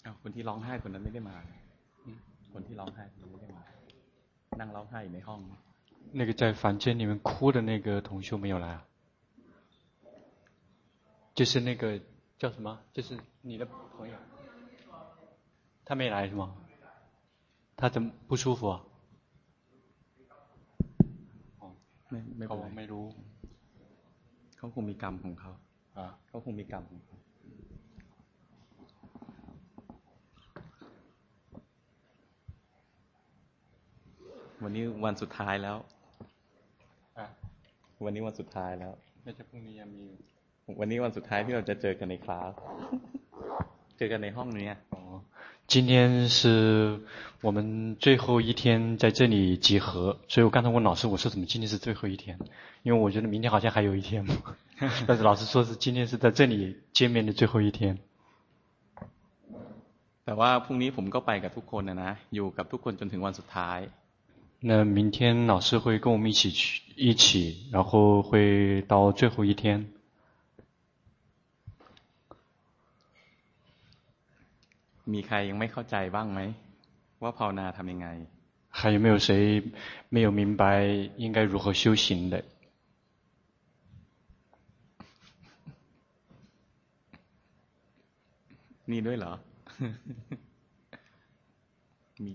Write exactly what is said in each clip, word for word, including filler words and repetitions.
อ้าวคนที่ร้องไห้คนนั้นไม่ได้มาคนที่ร้องไห้คนนั้นไม่ได้มานั่งร้องไห้อยู่ในห้อง那个在房间里面哭的那个同修没有来啊？就是那个叫什么？就是你的朋友，他没来是吗？他怎么不舒服啊？哦， ไม่ไม่เป็นไรไม่รู้เขาคงมีกรรมของเขาอ่าเขาคงมีกรรมของเขาวันนี้วันสุดท้ายแล้ววันนี้วันสุดท้ายแล้วไม่ใช่พรุ่งนี้ยังมีวันนี้วันสุดท้ายที่เราจะเจอกันในคลาสเจอกันในห้องนี้哦今天是我们最后一天在这里集合，所以我刚才問老師，我說怎麼今天是最後一天？因為我覺得明天好像還有一天嘛，但是老師說是今天是在這裡見面的最後一天。 แต่ว่าพรุ่งนี้ผมก็ไปกับทุกคนนะนะอยู่กับทุกคนจนถึงวันสุดท้าย那明天老師會跟我們一起去一起，然後會到最後一天。 มีใครยังไม่เข้าใจบ้างไหมว่าภาวนาทำยังไง還有沒有誰沒有明白應該如何修行的？ มีด้วยเหรอ มี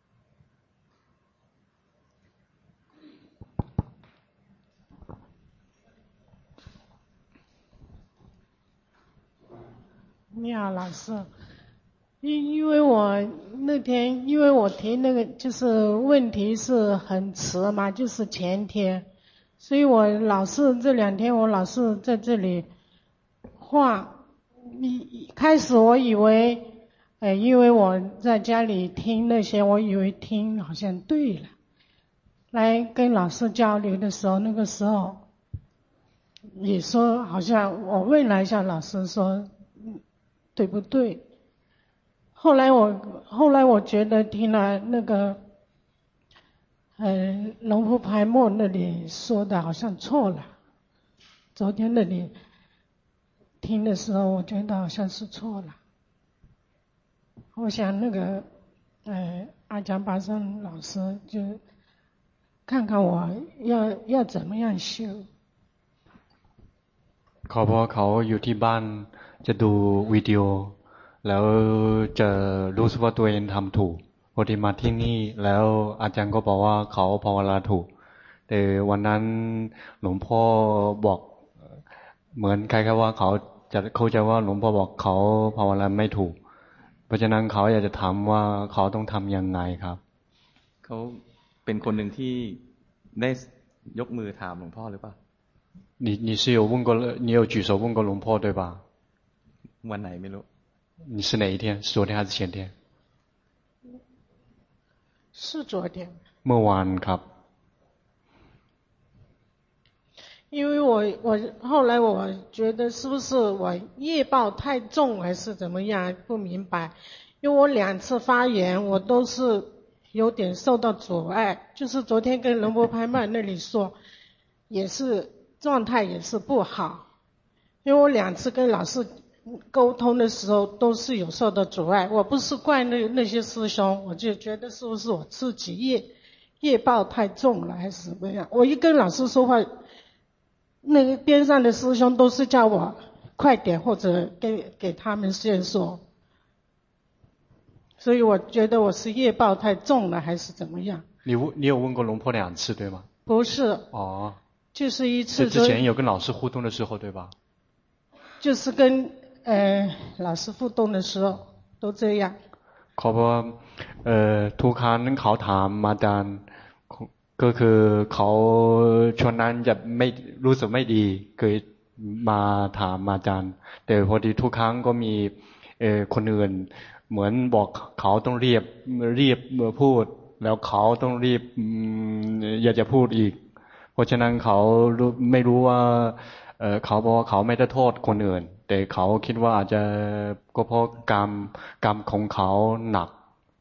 你好，老師。因因為我那天，因為我提那個就是問題是很遲嘛，就是前天，所以我老是這兩天我老是在這裡畫。一開始我以為，呃，因為我在家裡聽那些，我以為聽好像對了。來跟老師交流的時候，那個時候也說好像我問了一下老師說，對不對？後來我後來我覺得聽了那個，呃，龍婆排末那裡說的好像錯了。昨天那裡聽的時候，我覺得好像是錯了。我想那個，呃，阿江巴桑老師就看看我要要怎麼樣修。 เขาพอเขาอยู่ที่บ้านจะดูวิดีโอแล้วจะรู้สึกว่าตัวเองทำถูกพอดีมาที่นี่แล้วอาจารย์ก็บอกว่าเขาภาวนาถูกแต่วันนั้นหลวงพ่อบอกเหมือนคล้ายๆว่าเขาจะเข้าใจว่าหลวงพ่อบอกเขาภาวนาไม่ถูกเพราะฉะนั้นเขาอยากจะถามว่าเขาต้องทำยังไงครับเขาเป็นคนหนึ่งที่ได้ยกมือถามหลวงพ่อหรือเปล่า你你是有問過你有舉手問過龍婆對吧วันไหนไม่รู้你是哪一天是昨天還是前天是昨天เมื่อวานครับ因為我我後來我覺得是不是我業報太重還是怎麼樣不明白因為我兩次發言我都是有點受到阻礙就是昨天跟龍婆排末那裡說也是狀態也是不好因為我兩次跟老師溝通的時候都是有受到阻礙我不是怪那那些師兄我就覺得是不是我自己業業報太重了還是怎麼樣我一跟老師說話那個邊上的師兄都是叫我快點或者給給他們先說所以我覺得我是業報太重了還是怎麼樣你你有問過龍婆兩次對嗎不是哦就是一次之前有跟老師互動的時候對吧就是跟呃老師互動的時候都這樣เขาบอกว่าเอ่อทุกครั้งเขาถามอาจารย์ก็คือเขาช่วงนั้นจะไม่รู้สึกไม่ดีเคยมาถามอาจารย์แต่พอดีทุกครั้งก็มีเอ่อคนอื่นเหมือนบอกเขาต้องรีบรีบพูดแล้วเขาต้องรีบอยากจะพูดอีกเพราะฉะนั้นเขาไม่รู้ว่าเอ่อเขาบอกว่าเขาไม่ได้โทษคนอื่นแต่เขาคิดว่าอาจจะก็เพราะกรรมกรรมของเขาหนัก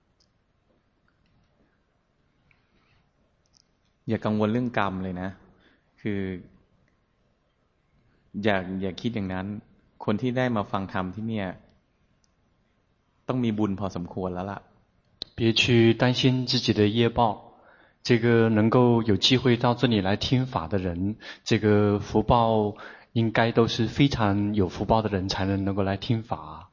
อย่ากังวลเรื่องกรรมเลยนะคืออย่าอย่าคิดอย่างนั้นคนที่ได้มาฟังธรรมที่เนี่ยต้องมีบุญพอสมควรแล้วล่ะ別去擔心自己的業報，這個能夠有機會到這裡來聽法的人，這個福報應該都是非常有福報的人才能能夠來聽法。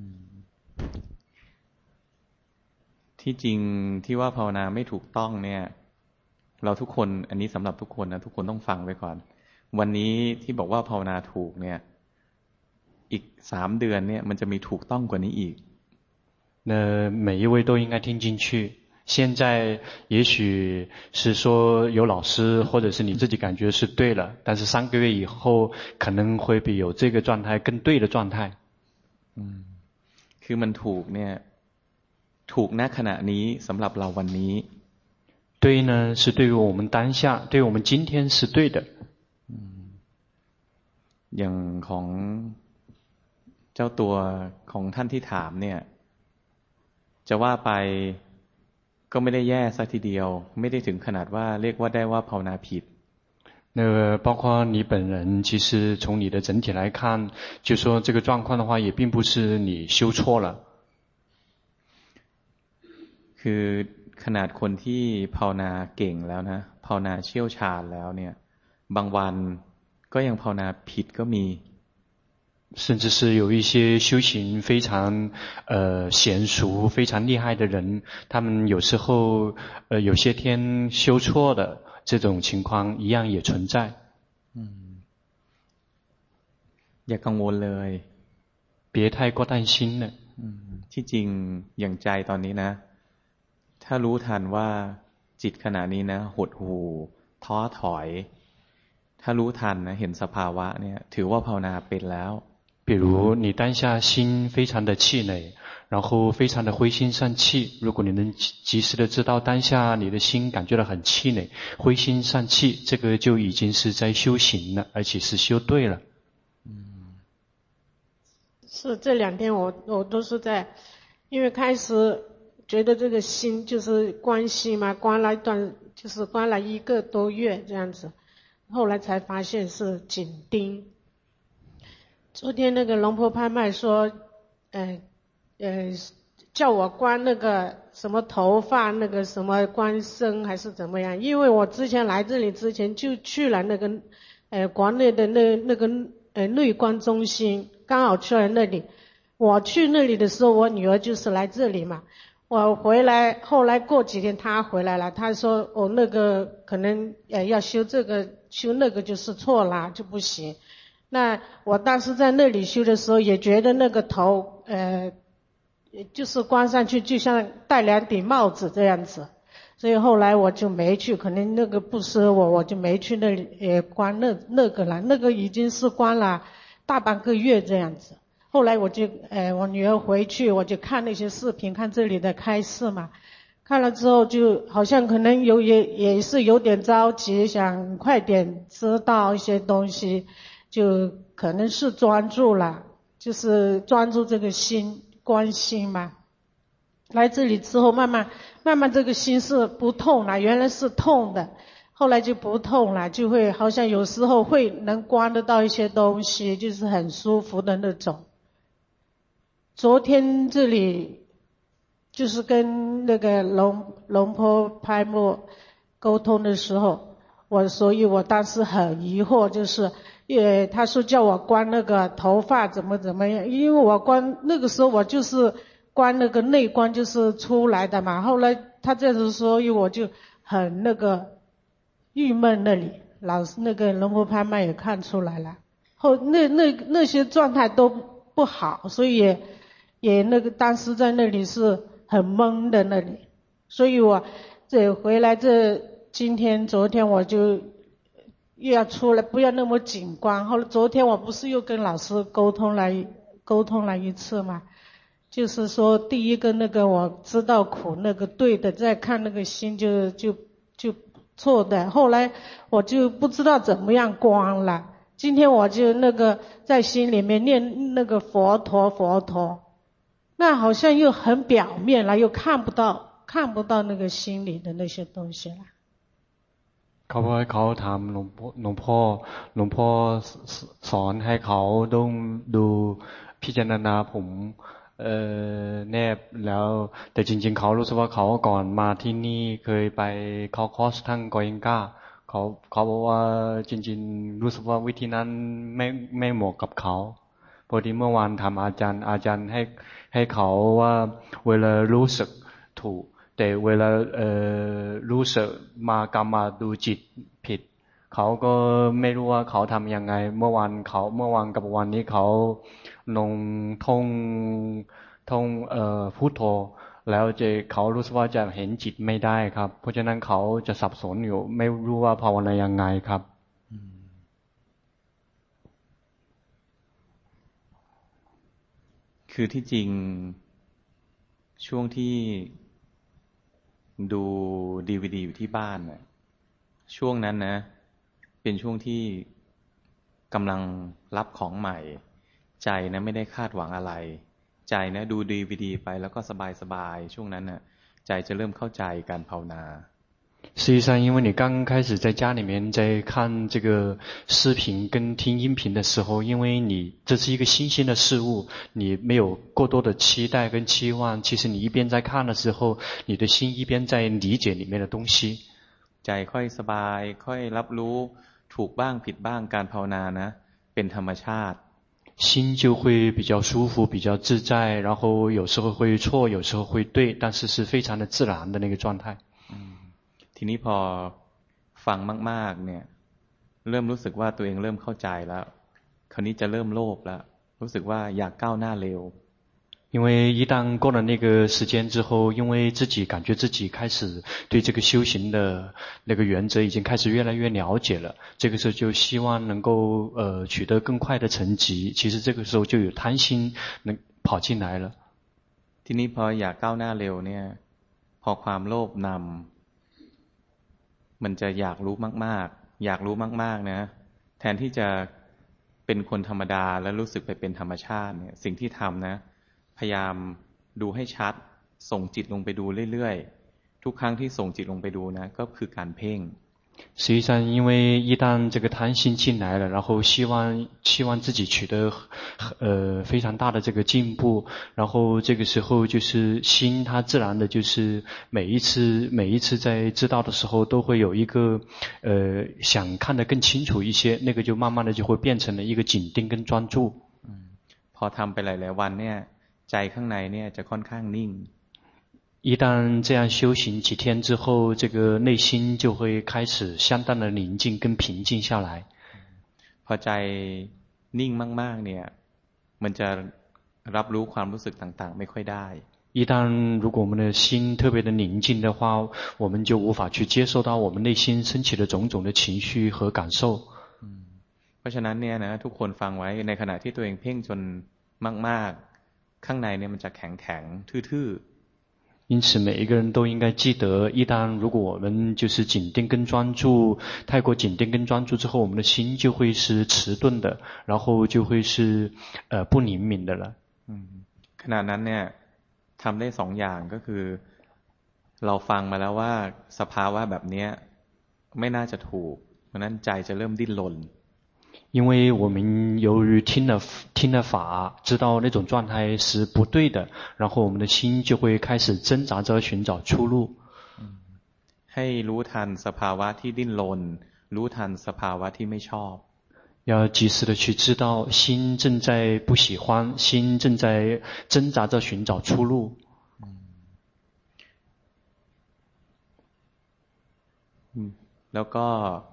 ที่จริงที่ว่าภาวนาไม่ถูกต้องเนี่ยเราทุกคนอันนี้สำหรับทุกคนนะทุกคนต้องฟังไว้ก่อนวันนี้ที่บอกว่าภาวนาถูกเนี่ยอีกสามเดือนเนี่ยมันจะมีถูกต้องกว่านี้อีก那每一位都應該聽進去。現在也許是說有老師或者是你自己感覺是對了，但是三個月以後可能會比有這個狀態更對的狀態。 嗯，คือมันถูกเนี่ยถูกณขณะนี้สำหรับเราวันนี้對呢是對於我們當下，對於我們今天是對的。 嗯，อย่างของเจ้าตัวของท่านที่ถามเนี่ยจะว่าไปก็ไม่ได้แย่สักทีเดียวไม่ได้ถึงขนาดว่าเรียกว่าได้ว่าภาวนาผิด那個包括你本人，其實從你的整體來看，就說這個狀況的話，也並不是你修錯了。 คือขนาดคนที่ภาวนาเก่งแล้วนะภาวนาเชี่ยวชาญแล้วเนี่ยบางวันก็ยังภาวนาผิดก็มี甚至是有一些修行非常呃嫻熟、非常厲害的人，他們有時候呃有些天修錯的這種情況一樣也存在。 嗯，อย่ากังวลเลย別太過擔心了。 อืมที่จริงอย่างใจตอนนี้นะถ้ารู้ทันว่าจิตขณะนี้นะหดหู่ท้อถอยถ้ารู้ทันนะเห็นสภาวะเนี่ยถือว่าภาวนาเป็นแล้ว比如你當下心非常的氣餒，然後非常的灰心喪氣，如果你能及時的知道當下你的心感覺到很氣餒、灰心喪氣，這個就已經是在修行了，而且是修對了。 嗯，是這兩天我我都是在，因為開始覺得這個心就是關心嘛，關了一段就是關了一個多月這樣子，後來才發現是緊盯。昨天那個龍婆拍賣說，呃呃，叫我關那個什麼頭髮，那個什麼關身還是怎麼樣？因為我之前來這裡之前就去了那個，呃，國內的那那個呃內觀中心，剛好去了那裡。我去那裡的時候，我女兒就是來這裡嘛。我回來，後來過幾天她回來了，她說哦那個可能呃要修這個修那個就是錯了，就不行。那我當時在那裡修的時候，也覺得那個頭，呃，就是關上去，就像戴兩頂帽子這樣子，所以後來我就沒去，可能那個不適合我，我就沒去那裡，呃，關那那個了，那個已經是關了大半個月這樣子。後來我就，呃，我女兒回去，我就看那些視頻，看這裡的開示嘛，看了之後就好像可能有也也是有點着急，想快點知道一些東西。就可能是專注了，就是專注這個心，觀心嘛。來這裡之後，慢慢慢慢這個心是不痛了，原來是痛的，後來就不痛了，就會好像有時候會能觀得到一些東西，就是很舒服的那種。昨天這裡就是跟那個龍龍婆拍賣溝通的時候，我所以我當時很疑惑，就是也他說叫我關那個頭髮怎麼怎麼樣，因為我關那個時候我就是關那個內觀就是出來的嘛，後來他這樣子說，所以我就很那個鬱悶那裡，老師那個龍婆拍賣也看出來了，後那那那些狀態都不好，所以也也那個當時在那裡是很懵的那裡，所以我這回來這今天昨天我就又要出來，不要那麼緊關。後來昨天我不是又跟老師溝通了溝通了一次嘛，就是說第一個那個我知道苦那個對的，再看那個心就就就錯的。後來我就不知道怎麼樣關了。今天我就那個在心裡面念那個佛陀佛陀，那好像又很表面了，又看不到看不到那個心裡的那些東西了。 เขาบอกให้เขาถามหลวงพ่อหลวงพ่อหลวงพ่อสอนให้เขาต้องดูพิจารณาผมเอ่อแนบแล้วแต่จริงๆเขารู้สึกว่าเขาก่อนมาที่นี่เคยไปเข้าคอร์สทั้งกอยิงก้าเขาเขาบอกว่าจริงๆรู้สึกว่าวิธีนั้นไม่ไม่เหมาะกับเขาพอดีเมื่อวานทำอาจารย์อาจารย์ให้ให้เขาว่าเวลารู้สึกถูกแต่เวลาเอ่อรู้สึกมากำมาดูจิตผิดเขาก็ไม่รู้ว่าเขาทำยังไงเมื่อวานเขาเมื่อวานกับวันนี้เขาลงท่องท่องเอ่อพุทโธแล้วจะเขารู้สึกว่าจะเห็นจิตไม่ได้ครับเพราะฉะนั้นเขาจะสับสนอยู่ไม่รู้ว่าภาวนายังไงครับคือที่จริงช่วงที่ดูดีวีดีอยู่ที่บ้านน่ะช่วงนั้นนะเป็นช่วงที่กำลังรับของใหม่ใจนะไม่ได้คาดหวังอะไรใจนะดูดีวีดีไปแล้วก็สบายๆช่วงนั้นน่ะใจจะเริ่มเข้าใจการภาวนา实际上因为你刚刚开始在家里面在看这个视频跟听音频的时候因为你這是一個新鮮的事物你沒有過多的期待跟期望其實你一邊在看的時候你的心一邊在理解裡面的東西ใจค่อยสบายค่อยรับรู้ถูกบ้างผิดบ้างการภาวนานะเป็นธรรมชาติ心就會比較舒服比較自在然後有時候會錯有時候會對但是是非常的自然的那個狀態ทีนี้พอฟังมากๆเนี่ยเริ่มรู้สึกว่าตัวเองเริ่มเข้าใจแล้วคราวนี้จะเริ่มโลภแล้วรู้สึกว่าอยากก้าวหน้าเร็ว因為一旦過了那個時間之後因為自己感覺自己開始對這個修行的那個原則已經開始越來越了解了這個時候就希望能夠呃取得更快的成績其實這個時候就有貪心能跑進來了ทีนี้พออยากก้าวหน้าเร็วเนี่ยพอความโลภนำมันจะอยากรู้มากๆอยากรู้มากๆนะแทนที่จะเป็นคนธรรมดาแล้วรู้สึกไปเป็นธรรมชาติเนี่ยสิ่งที่ทำนะพยายามดูให้ชัดส่งจิตลงไปดูเรื่อยๆทุกครั้งที่ส่งจิตลงไปดูนะก็คือการเพ่ง實際上因為一旦這個貪心進來了然後希望希望自己取得呃非常大的這個進步然後這個時候就是心它自然的就是每一次每一次在知道的時候都會有一個呃想看得更清楚一些那個就慢慢的就會變成了一個緊盯跟專注พอทำไปหลายๆวันเนี่ยใจข้างในเนี่ยจะค่อนข้างนิ่ง一旦這樣修行幾天之後這個內心就會開始相當的寧靜跟平靜下來พอใจนิ่งมากๆเนี่ยมันจะรับรู้ความรู้สึกต่างๆไม่ค่อยได้一旦如果我們的心特別的寧靜的話我們就無法去接受到我們內心升起的種種的情緒和感受เพราะฉะนั้นเนี่ยนะทุกคนฟังไว้ในขณะที่ตัวเองเพ่งจนมากๆข้างในเนี่ยมันจะแข็งๆทื่อๆ因此每一個人都應該記得一旦如果我們就是緊盯跟專注太過緊盯跟專注之後我們的心就會是遲鈍的然後就會是呃不靈敏的了ขณะนั้นเนี่ยทำได้สองอย่างก็คือเราฟังมาแล้วว่าสภาวะแบบนี้ไม่น่าจะถูกเพราะนั้นใจจะเริ่มดิ้นรน因為我們由於聽了聽了法知道那種狀態是不對的然後我們的心就會開始掙扎着尋找出路ให้รู้ทันสภาวะที่ดิ้นรนรู้ทันสภาวะที่ไม่ชอบ要及時的去知道心正在不喜歡心正在掙扎着尋找出路แล้วก็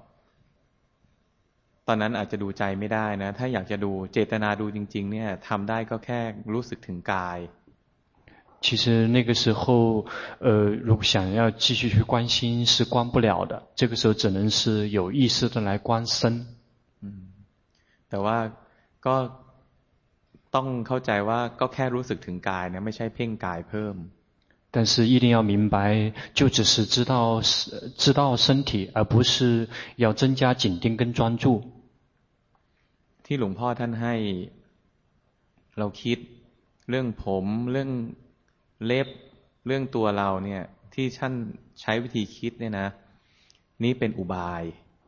ตอนนั้นอาจจะดูใจไม่ได้นะถ้าอยากจะดูเจตนาดูจริงๆเนี่ยทำได้ก็แค่รู้สึกถึงกาย其實那個時候呃如果想要繼續去觀心是觀不了的這個時候只能是有意識的來觀身แต่ว่าก็ต้องเข้าใจว่าก็แค่รู้สึกถึงกายนะไม่ใช่เพ่งกายเพิ่ม但是一定要明白就只是知道知道身體而不是要增加緊盯跟專注ที่หลวงพ่อท่านให้เราคิดเรื่องผมเรื่องเล็บเรื่องตัวเราเนี่ยที่ท่านใช้วิธีคิดเนี่ยนะนี่เป็นอุบาย菩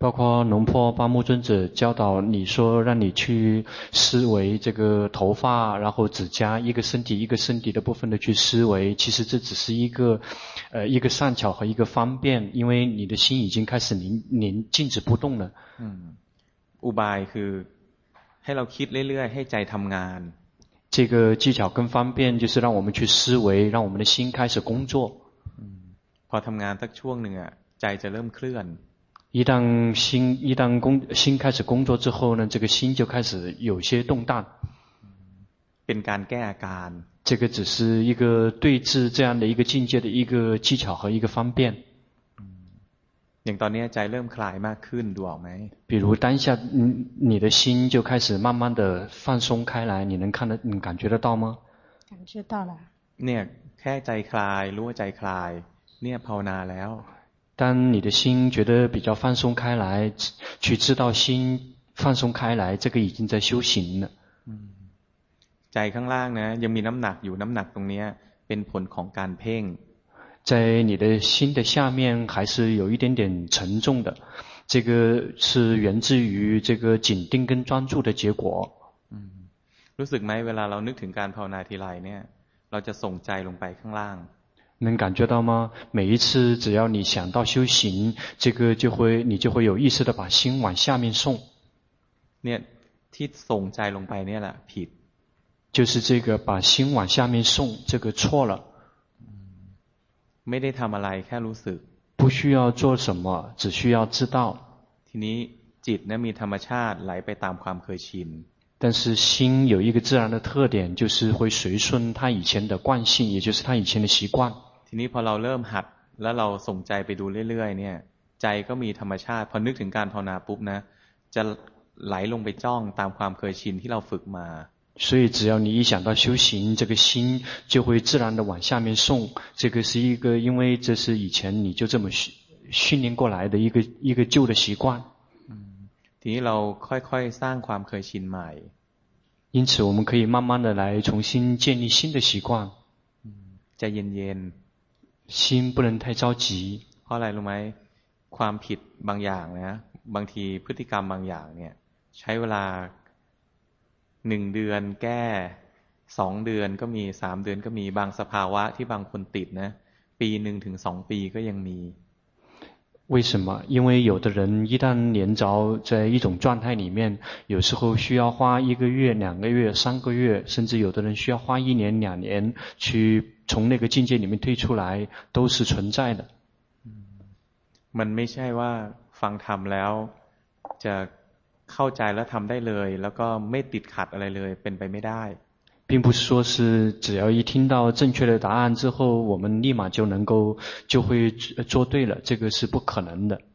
包括龍婆巴木尊者教導你說讓你去思維這個頭髮然後指甲一個身體一個身體的部分的去思維，其實這只是一個呃一個善巧和一個方便，因為你的心已經開始凝凝靜止不動了。 嗯อุบายคือให้เราคิดเรื่อยๆให้ใจทำงาน這個技巧跟方便就是讓我們去思維，讓我們的心開始工作。 พอทำงานสักช่วงหนึ่งอ่ะใจจะเริ่มเคลื่อน一旦心一旦工心開始工作之後呢，這個心就開始有些動盪。 เป็นการแก้อาการ這個只是一個對治這樣的一個境界的一個技巧和一個方便。 อย่างตอนนี้ใจเริ่มคลายมากขึ้นดูออกไหม比如當下你你的心就開始慢慢的放鬆開來，你能看得你感覺得到嗎？ 感覺到了。 เนี่ยแค่ใจคลายรู้ว่าใจคลายเนี่ยภาวนาแล้ว當你的心覺得比較放鬆開來，去知道心放鬆開來，這個已經在修行了。 ใจข้างล่างนะยังมีน้ำหนักอยู่น้ำหนักตรงนี้เป็นผลของการเพ่ง在你的心的下面還是有一點點沉重的，這個是源自於這個緊盯跟專注的結果。 รู้สึกไหมเวลาเรานึกถึงการภาวนาทีไรเนี่ยเราจะส่งใจลงไปข้างล่าง能感覺到嗎？每一次只要你想到修行，這個就會你就會有意識的把心往下面送。 เนี่ยที่ส่งใจลงไปเนี่ยแหละผิด就是這個把心往下面送，這個錯了。 ไม่ได้ทำอะไรแค่รู้สึก不需要做什麼，只需要知道。 ทีนี้จิตเนี่ยมีธรรมชาติไหลไปตามความเคยชิน但是心有一個自然的特點，就是會隨順他以前的慣性，也就是他以前的習慣。 ทีนี้พอเราเริ่มหัดแล้วเราส่งใจไปดูเรื่อยๆเนี่ยใจก็มีธรรมชาติพอนึกถึงการภาวนาปุ๊บนะจะไหลลงไปจ้องตามความเคยชินที่เราฝึกมา所以只要你一想到修行，這個心就會自然的往下面送。這個是一個，因為這是以前你就這麼訓訓練過來的一個一個舊的習慣。 ทีนี้เราค่อยๆสร้างความเคยชินใหม่因此我們可以慢慢的來重新建立新的習慣。 ใจเย็นๆ心不能太着急เพราะอะไรรู้ไหมความผิดบางอย่างนะบางทีพฤติกรรมบางอย่างเนี่ยใช้เวลาหนึ่งเดือนแก้สองเดือนก็มีสามเดือนก็มีบางสภาวะที่บางคนติดนะปีหนึ่งถึงสองปีก็ยังมี為什麼？因為有的人一旦連着在一種狀態裡面，有時候需要花一個月、兩個月、三個月，甚至有的人需要花一年、兩年去從那個境界裡面退出來，都是存在的。 มันไม่ใช่ว่าฟังธรรมแล้วจะเข้าใจแล้วทำได้เลยแล้วก็ไม่ติดขัดอะไรเลยเป็นไปไม่ได้並不是說是只要一聽到正確的答案之後，我們立馬就能夠就會做對了，這個是不可能的。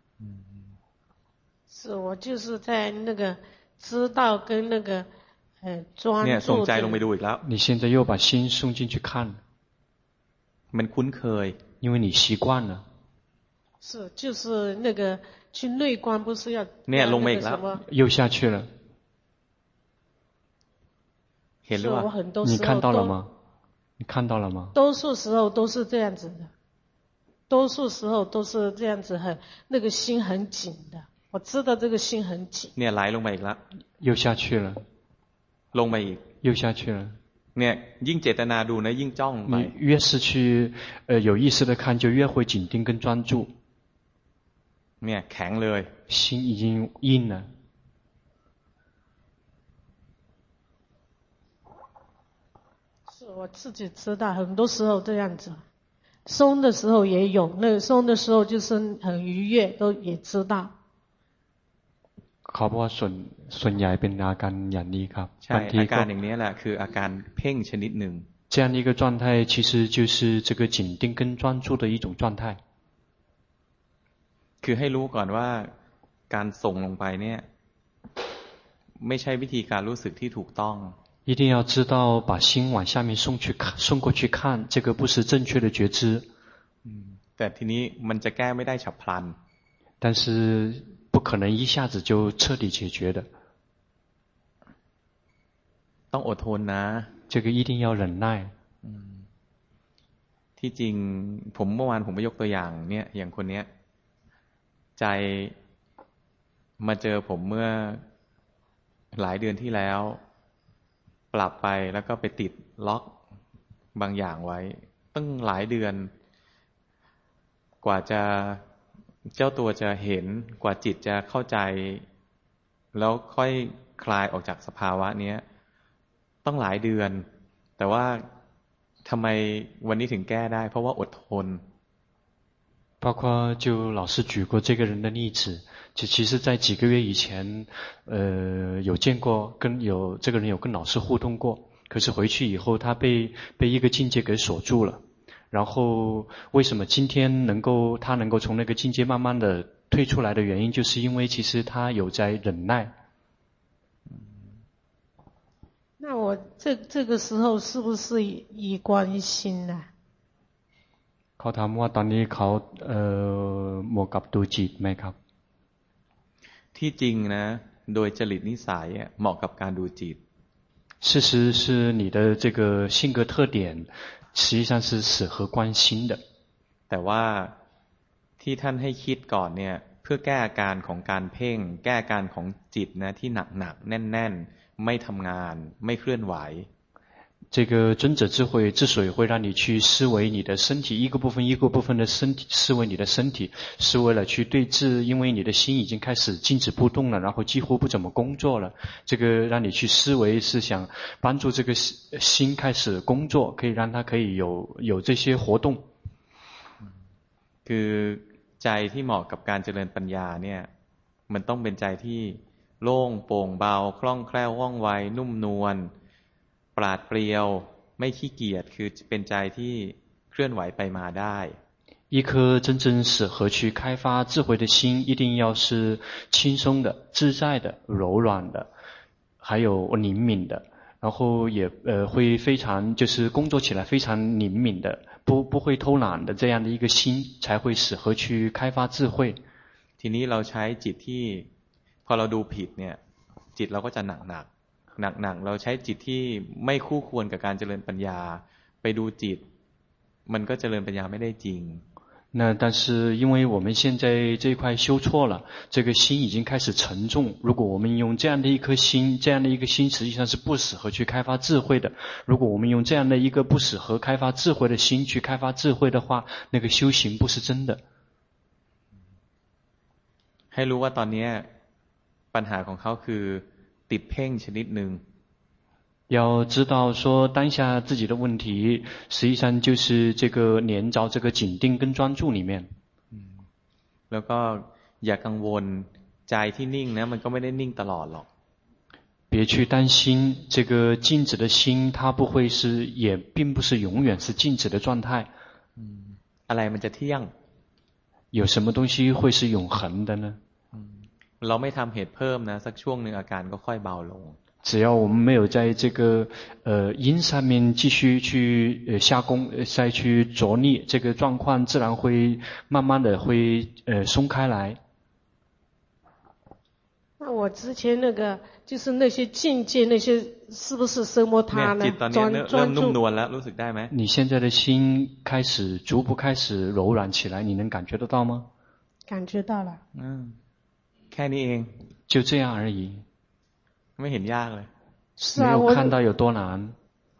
是我就是在那個知道跟那個呃專注。 เนี่ยส่งใจลงไปดูอีกแล้ว你現在又把心送進去看， มันคุ้นเคย， 因為你習慣了。 是就是那個去內觀不是要เนี่ยลงมาอีกแล้ว又下去了。 是我很多時候你看到了嗎？你看到了嗎？ 多數時候都是這樣子的，多數時候都是這樣子很，很那個心很緊的。我知道這個心很緊。 เนี่ยไหลลงมาอีกแล้ว又下去了。 ลงมาอีก又下去了。 เนี่ยยิ่งเจตนาดูนะยิ่งจ้องไป你越是去呃有意識的看，就越會緊盯跟專注。 เนี่ยแข็งเลย心已經硬了。 是我自己知道，很多時候這樣子，鬆的時候也有，那個鬆的時候就是很愉悅，都也知道。 เขาบอกว่าส่วนส่วนใหญ่เป็นอาการอย่างนี้ครับใช่อาการอย่างนี้แหละคืออาการเพ่งชนิดหนึ่ง這樣的一個狀態其實就是這個緊盯跟專注的一種狀態。 คือให้รู้ก่อนว่าการส่งลงไปเนี่ยไม่ใช่วิธีการรู้สึกที่ถูกต้อง一定要知道把心往下面送去看，送過去看，這個不是正確的覺知。 แต่ทีนี้มันจะแก้ไม่ได้ฉับพลัน但是不可能一下子就徹底解決的。 ต้องอดทนนะ這個一定要忍耐。 ที่จริงผมเมื่อวานผมไปยกตัวอย่างเนี่ยอย่างคนเนี้ยใจมาเจอผมเมื่อหลายเดือนที่แล้วปรับไปแล้วก็ไปติดล็อกบางอย่างไว้ตั้งหลายเดือนกว่าจะเจ้าตัวจะเห็นกว่าจิตจะเข้าใจแล้วค่อยคลายออกจากสภาวะนี้ต้องหลายเดือนแต่ว่าทำไมวันนี้ถึงแก้ได้เพราะว่าอดทน包括就老師舉過這個人的例子，就其實在幾個月以前，呃，有見過跟有這個人有跟老師互動過，可是回去以後他被被一個境界給鎖住了。然後為什麼今天能夠他能夠從那個境界慢慢的退出來的原因，就是因為其實他有在忍耐。 那我這這個時候是不是以觀心呢？ เขาถามว่าตอนนี้เขาเอ่อเหมาะกับดูจิตไหมครับที่จริงนะโดยจริตนิสัยเหมาะกับการดูจิต事實是你的這個性格特點實際上是適合觀心的แต่ว่าที่ท่านให้คิดก่อนเนี่ยเพื่อแก้อาการของการเพ่งแก้อาการของจิตนะที่หนักๆแน่นๆไม่ทำงานไม่เคลื่อนไหว這個尊者智慧之所以會讓你去思維你的身體，一個部分一個部分的身體，思維你的身體，是為了去對治，因為你的心已經開始靜止不動了，然後幾乎不怎麼工作了。這個讓你去思維是想幫助這個心開始工作，可以讓它可以有有這些活動。 คือใจที่เหมาะกับการเจริญปัญญาเนี่ยมันต้องเป็นใจที่โล่งโปร่งเบาคล่องแคล่วว่องไวนุ่มนวลปราดเปรียวไม่ขี้เกียจคือเป็นใจที่เคลื่อนไหวไปมาได้一顆真正適合去開發智慧的心一定要是輕鬆的自在的柔軟的還有靈敏的然後也呃會非常就是工作起來非常靈敏的不不會偷懶的這樣的一個心才會適合去開發智慧ทีนี้เราใช้จิตที่พอเราดูผิดเนี่ยจิตเราก็จะหนักหนักหนักๆเราใช้จิตที่ไม่คู่ควรกับการเจริญปัญญาไปดูจิตมันก็เจริญปัญญาไม่ได้จริง那但是因為我們現在這一塊修錯了這個心已經開始沉重如果我們用這樣的一顆心這樣的一個心實際上是不適合去開發智慧的如果我們用這樣的一個不適合開發智慧的心去開發智慧的話那個修行不是真的ให้รู้ว่าตอนนี้ปัญหาของเขาคือติดเพ่งชนิดหนึ่ง要知道說當下自己的問題實際上就是這個黏着這個緊定跟專注裡面แล้วก็อย่ากังวลใจที่นิ่งนะมันก็ไม่ได้นิ่งตลอดหรอก別去擔心這個靜止的心它不會是也並不是永遠是靜止的狀態อะไรมันจะเที่ยง有什麼東西會是永恆的呢เราไม่ทำเหตุเพิ่มนะสักช่วงหนึ่งอาการก็ค่อยเบาลง只要我們沒有在這個呃因上面繼續去呃下功再去着力這個狀況自然會慢慢的會呃鬆開來那我之前那個就是那些境界那些是不是什麼他呢專專注你現在的心開始逐步開始柔軟起來你能感覺得到嗎感覺到了嗯แค่นี้เอง就這樣而已ไม่เห็นยากเลย沒有看到有多難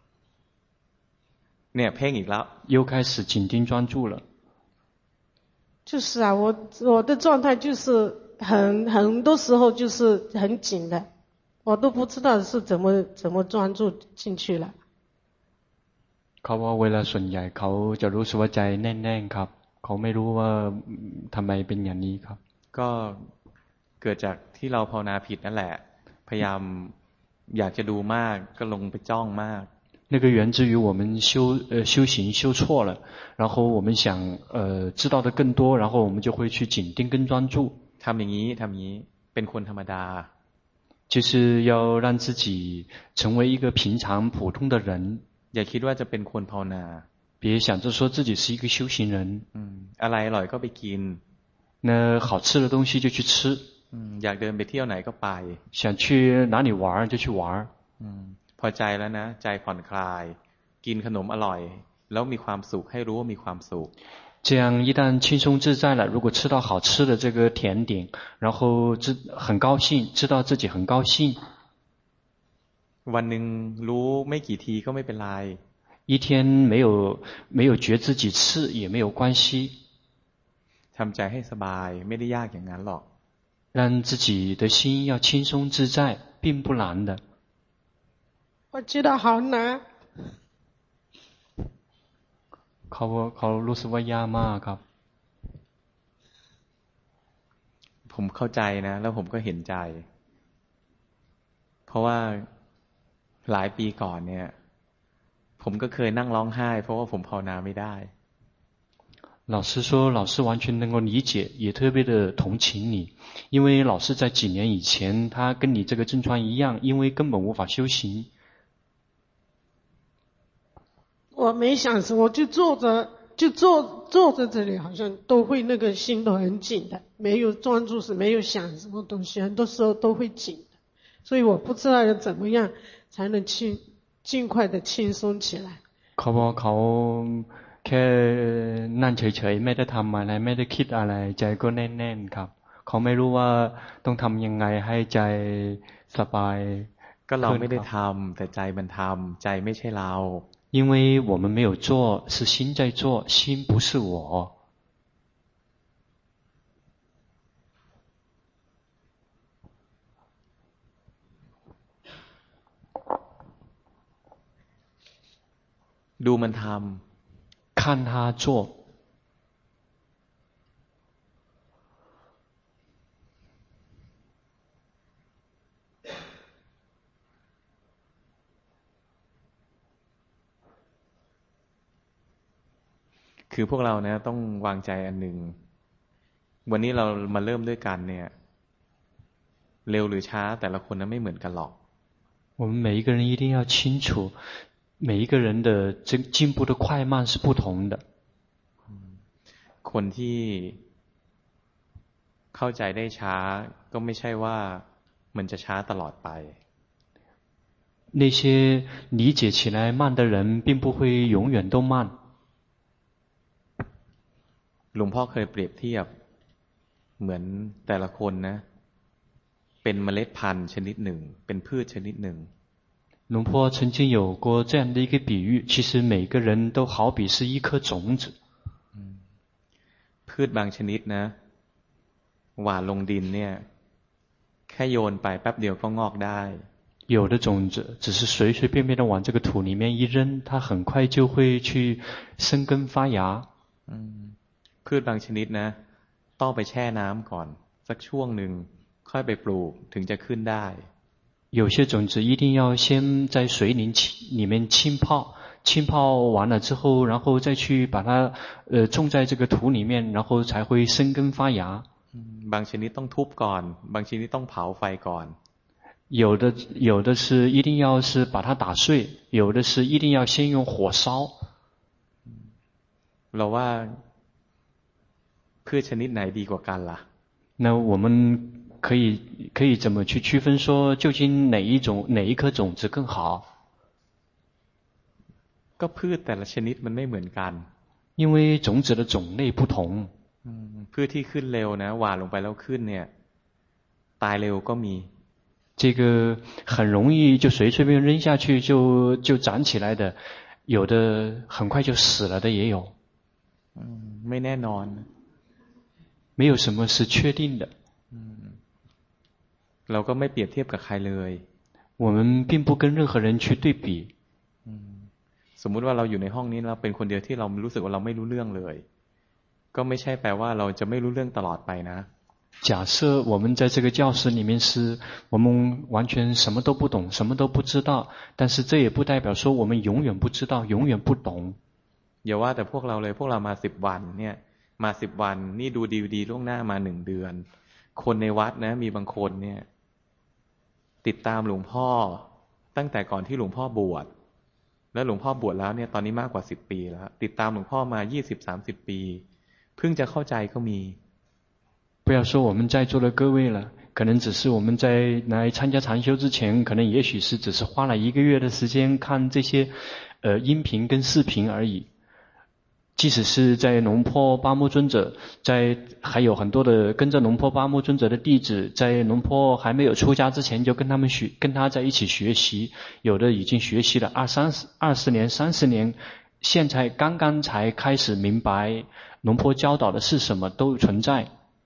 เนี่ยเพ่งอีกแล้ว又開始緊盯專注了就是啊我我的狀態就是很很多時候就是很緊的我都不知道是怎麼怎麼專注進去了เขาว่าเวลาส่วนใหญ่เขาจะรู้สึกว่าใจแน่นๆครับเขาไม่รู้ว่าทำไมเป็นอย่างนี้ครับก็เกิดจากที่เราภาวนาผิดนั่นแหละพยายามอยากจะดูมากก็ลงไปจ้องมาก那個源自於我們修呃修行修錯了然後我們想呃知道的更多然後我們就會去緊盯跟專注ทำอย่างนี้ทำอย่างนี้เป็นคนธรรมดา就是要讓自己成為一個平常普通的人อย่าคิดว่าจะเป็นคนภาวนา別想着說自己是一個修行人อะไรอร่อยก็ไปกิน那好吃的東西就去吃อยากเดินไปเที่ยวไหนก็ไป想去哪裡玩就去玩พอใจแล้วนะใจผ่อนคลายกินขนมอร่อยแล้วมีความสุขให้รู้ว่ามีความสุข這樣一旦輕鬆自在了，如果吃到好吃的這個甜點，然後知很高興，知道自己很高興。 วันหนึ่งรู้ไม่กี่ทีก็ไม่เป็นไร一天沒有沒有覺自己次也沒有關係。 ทำใจให้สบายไม่ได้ยากอย่างนั้นหรอก讓自己的心要輕鬆自在，並不難的。 我覺得好難。 เขาเขารู้สึกว่ายากมากครับผมเข้าใจนะแล้วผมก็เห็นใจเพราะว่าหลายปีก่อนเนี่ยผมก็เคยนั่งร้องไห้เพราะว่าผมภาวนาไม่ได้老師說老師完全能夠理解也特別的同情你因為老師在幾年以前他跟你這個症狀一樣因為根本無法修行我沒想什麼，我就坐着，就坐坐在這裡，好像都會那個心都很緊的，沒有專注時，沒有想什麼東西，很多時候都會緊的，所以我不知道要怎麼樣才能去盡快的輕鬆起來。 เขาบอกเขาแค่นั่งเฉยๆไม่ได้ทำอะไรไม่ได้คิดอะไรใจก็แน่นๆครับเขาไม่รู้ว่าต้องทำยังไงให้ใจสบายก็เราไม่ได้ทำแต่ใจมันทำใจไม่ใช่เรา因為我們沒有做是心在做心不是我ดูมันทำ看他做คือพวกเรานะต้องวางใจอันหนึ่งวันนี้เรามาเริ่มด้วยกันเนี่ยเร็วหรือช้าแต่ละคนนั้นไม่เหมือนกันหรอก我們每一個人一定要清楚每一個人的這進步的快慢是不同的คนที่เข้าใจได้ช้าก็ไม่ใช่ว่ามันจะช้าตลอดไป那些理解起來慢的人並不會永遠都慢หลวงพ่อเคยเปรียบเทียบเหมือนแต่ละคนนะเป็นเมล็ดพันธุ์ชนิดหนึ่งเป็นพืชชนิดหนึ่งหลวงพ่อ曾經有過這樣的一個比喻其實每個人都好比是一顆種子พืชบางชนิดนะหว่านลงดินเนี่ยแค่โยนไปแป๊บเดียวก็งอกได้有的種子只是隨隨便便的往這個土裡面一扔它很快就會去生根發芽พืชบางชนิดนะต้องไปแช่น้ำก่อนสักช่วงหนึ่งค่อยไปปลูกถึงจะขึ้นได้有些種子一定要先在水裡面浸泡浸泡完了之後然後再去把它呃種在這個土裡面然後才會生根發芽บางชนิดต้องทุบก่อนบางชนิดต้องเผาไฟก่อน有的有的是一定要是把它打碎有的是一定要先用火燒เราว่าพืชชนิดไหนดีกว่ากันล่ะ那我們可以可以怎麼去區分說究竟哪一種哪一顆種子更好ก็พืชแต่ละชนิดมันไม่เหมือนกัน因為種子的種類不同พืชที่ขึ้นเร็วนะหว่านลงไปแล้วขึ้นเนี่ยตายเร็วก็มี這個很容易就隨隨便扔下去就就長起來的有的很快就死了的也有ไม่แน่นอน沒有什麼是確定的เราก็ไม่เปรียบเทียบกับใครเลย我們並不跟任何人去對比สมมุติว่าเราอยู่ในห้องนี้เราเป็นคนเดียวที่เรารู้สึกว่าเราไม่รู้เรื่องเลยก็ไม่ใช่แปลว่าเราจะไม่รู้เรื่องตลอดไปนะ假設我們在這個教室裡面是我們完全什麼都不懂什麼都不知道但是這也不代表說我們永遠不知道永遠不懂อย่าว่าแต่พวกเราเลยพวกเรามาสิบวันเนี่ยมาสิบวันนี่ดูดีวดีล่วงหน้ามาหนึ่งเดือนคนในวัดนะมีบางคนเนี่ยติดตามหลวงพ่อตั้งแต่ก่อนที่หลวงพ่อบวชแล้วหลวงพ่อบวชแล้วเนี่ยตอนนี้มากกว่าสิบปีแล้วติดตามหลวงพ่อมายี่สิบสามสิบปีเพิ่งจะเข้าใจก็มี不要說我們在座的各位了可能只是我們在來參加禪修之前可能也許是只是花了一個月的時間看這些呃音頻跟視頻而已即使是在龍坡巴木尊者，在還有很多的跟着龍坡巴木尊者的弟子，在龍坡還沒有出家之前就跟他們學，跟他在一起學習，有的已經學習了二三十、二十年、三十年，現在剛剛才開始明白龍坡教導的是什麼，都存在。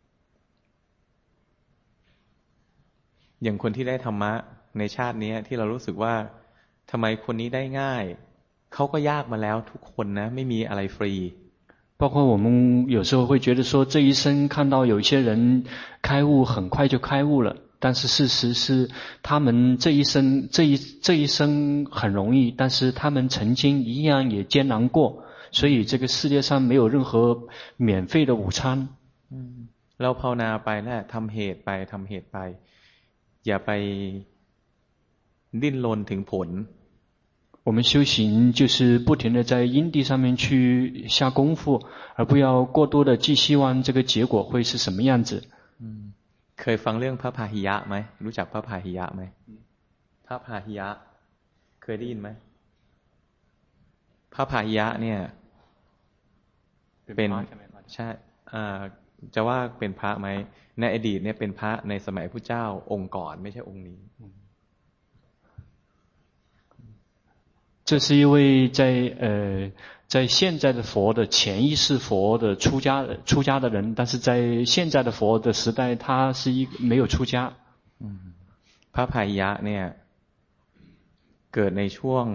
อย่างคนที่ได้ธรรมะในชาตินี้ที่เรารู้สึกว่าทำไมคนนี้ได้ง่ายเขาก็ยากมาแล้วทุกคนนะไม่มีอะไรฟรี包括我们有时候会觉得說這一生看到有一些人開悟很快就開悟了，但是事實是他們這一生這一這一生很容易，但是他們曾經一樣也艱難過，所以這個世界上沒有任何免費的午餐。 เราภาวนาไปนะทำเหตุไปทำเหตุไปอย่าไปดิ้นรนถึงผล我們修行就是不停地在因地上面去下功夫，而不要過多的寄希望這個結果會是什麼樣子。 เคยฟังเรื่องพระพาหิยะไหมรู้จักพระพาหิยะไหมพระพาหิยะเคยได้ยินไหมพระพาหิยะเนี่ยเป็นใช่จะว่าเป็นพระไหมในอดีตเนี่ยเป็นพระในสมัยพุทธเจ้าองค์ก่อนไม่ใช่องค์นี้這是一位在呃在現在的佛的前一世佛的出家的出家的人，但是在現在的佛的時代，他是一個沒有出家。 พระพาหิยะเนี่ยเกิดในช่วง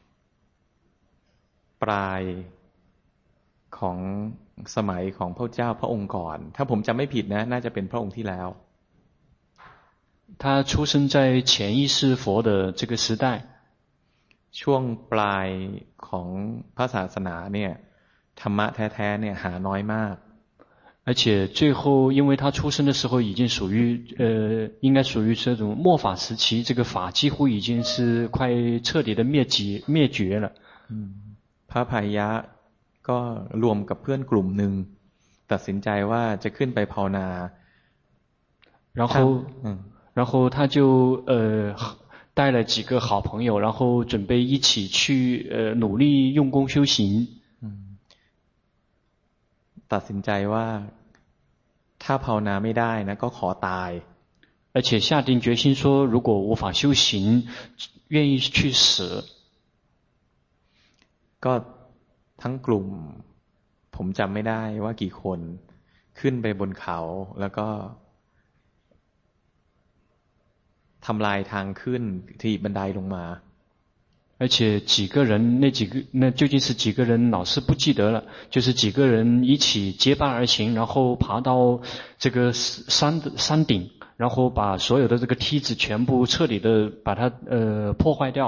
ปลายของสมัยของพระเจ้าพระองค์ก่อนถ้าผมจำไม่ผิดนะน่าจะเป็นพระองค์ที่แล้ว他出生在前一世佛的這個時代。 ช่วงปลายของพระศาสนาเนี่ยธรรมะแท้ๆเนี่ยหาน้อยมาก而且最後因為他出生的時候已經屬於呃應該屬於這種末法時期，這個法幾乎已經是快徹底的滅絕滅絕了。 พระพาหิยะก็รวมกับเพื่อนกลุ่มหนึ่งตัดสินใจว่าจะขึ้นไปภาวนา然後然後他就呃帶了幾個好朋友，然後準備一起去呃努力用功修行。 ตัดสินใจว่าถ้าภาวนาไม่ได้นะก็ขอตาย而且下定決心說如果無法修行願意去死。 ก็ทั้งกลุ่มผมจำไม่ได้ว่ากี่คนขึ้นไปบนเขาแล้วก็ทำลายทางขึ้นถีบบันไดลงมา而且幾個人那幾個那究竟是幾個人老是不記得了，就是幾個人一起結伴而行，然後爬到這個山的山頂，然後把所有的這個梯子全部徹底的把它呃破壞掉。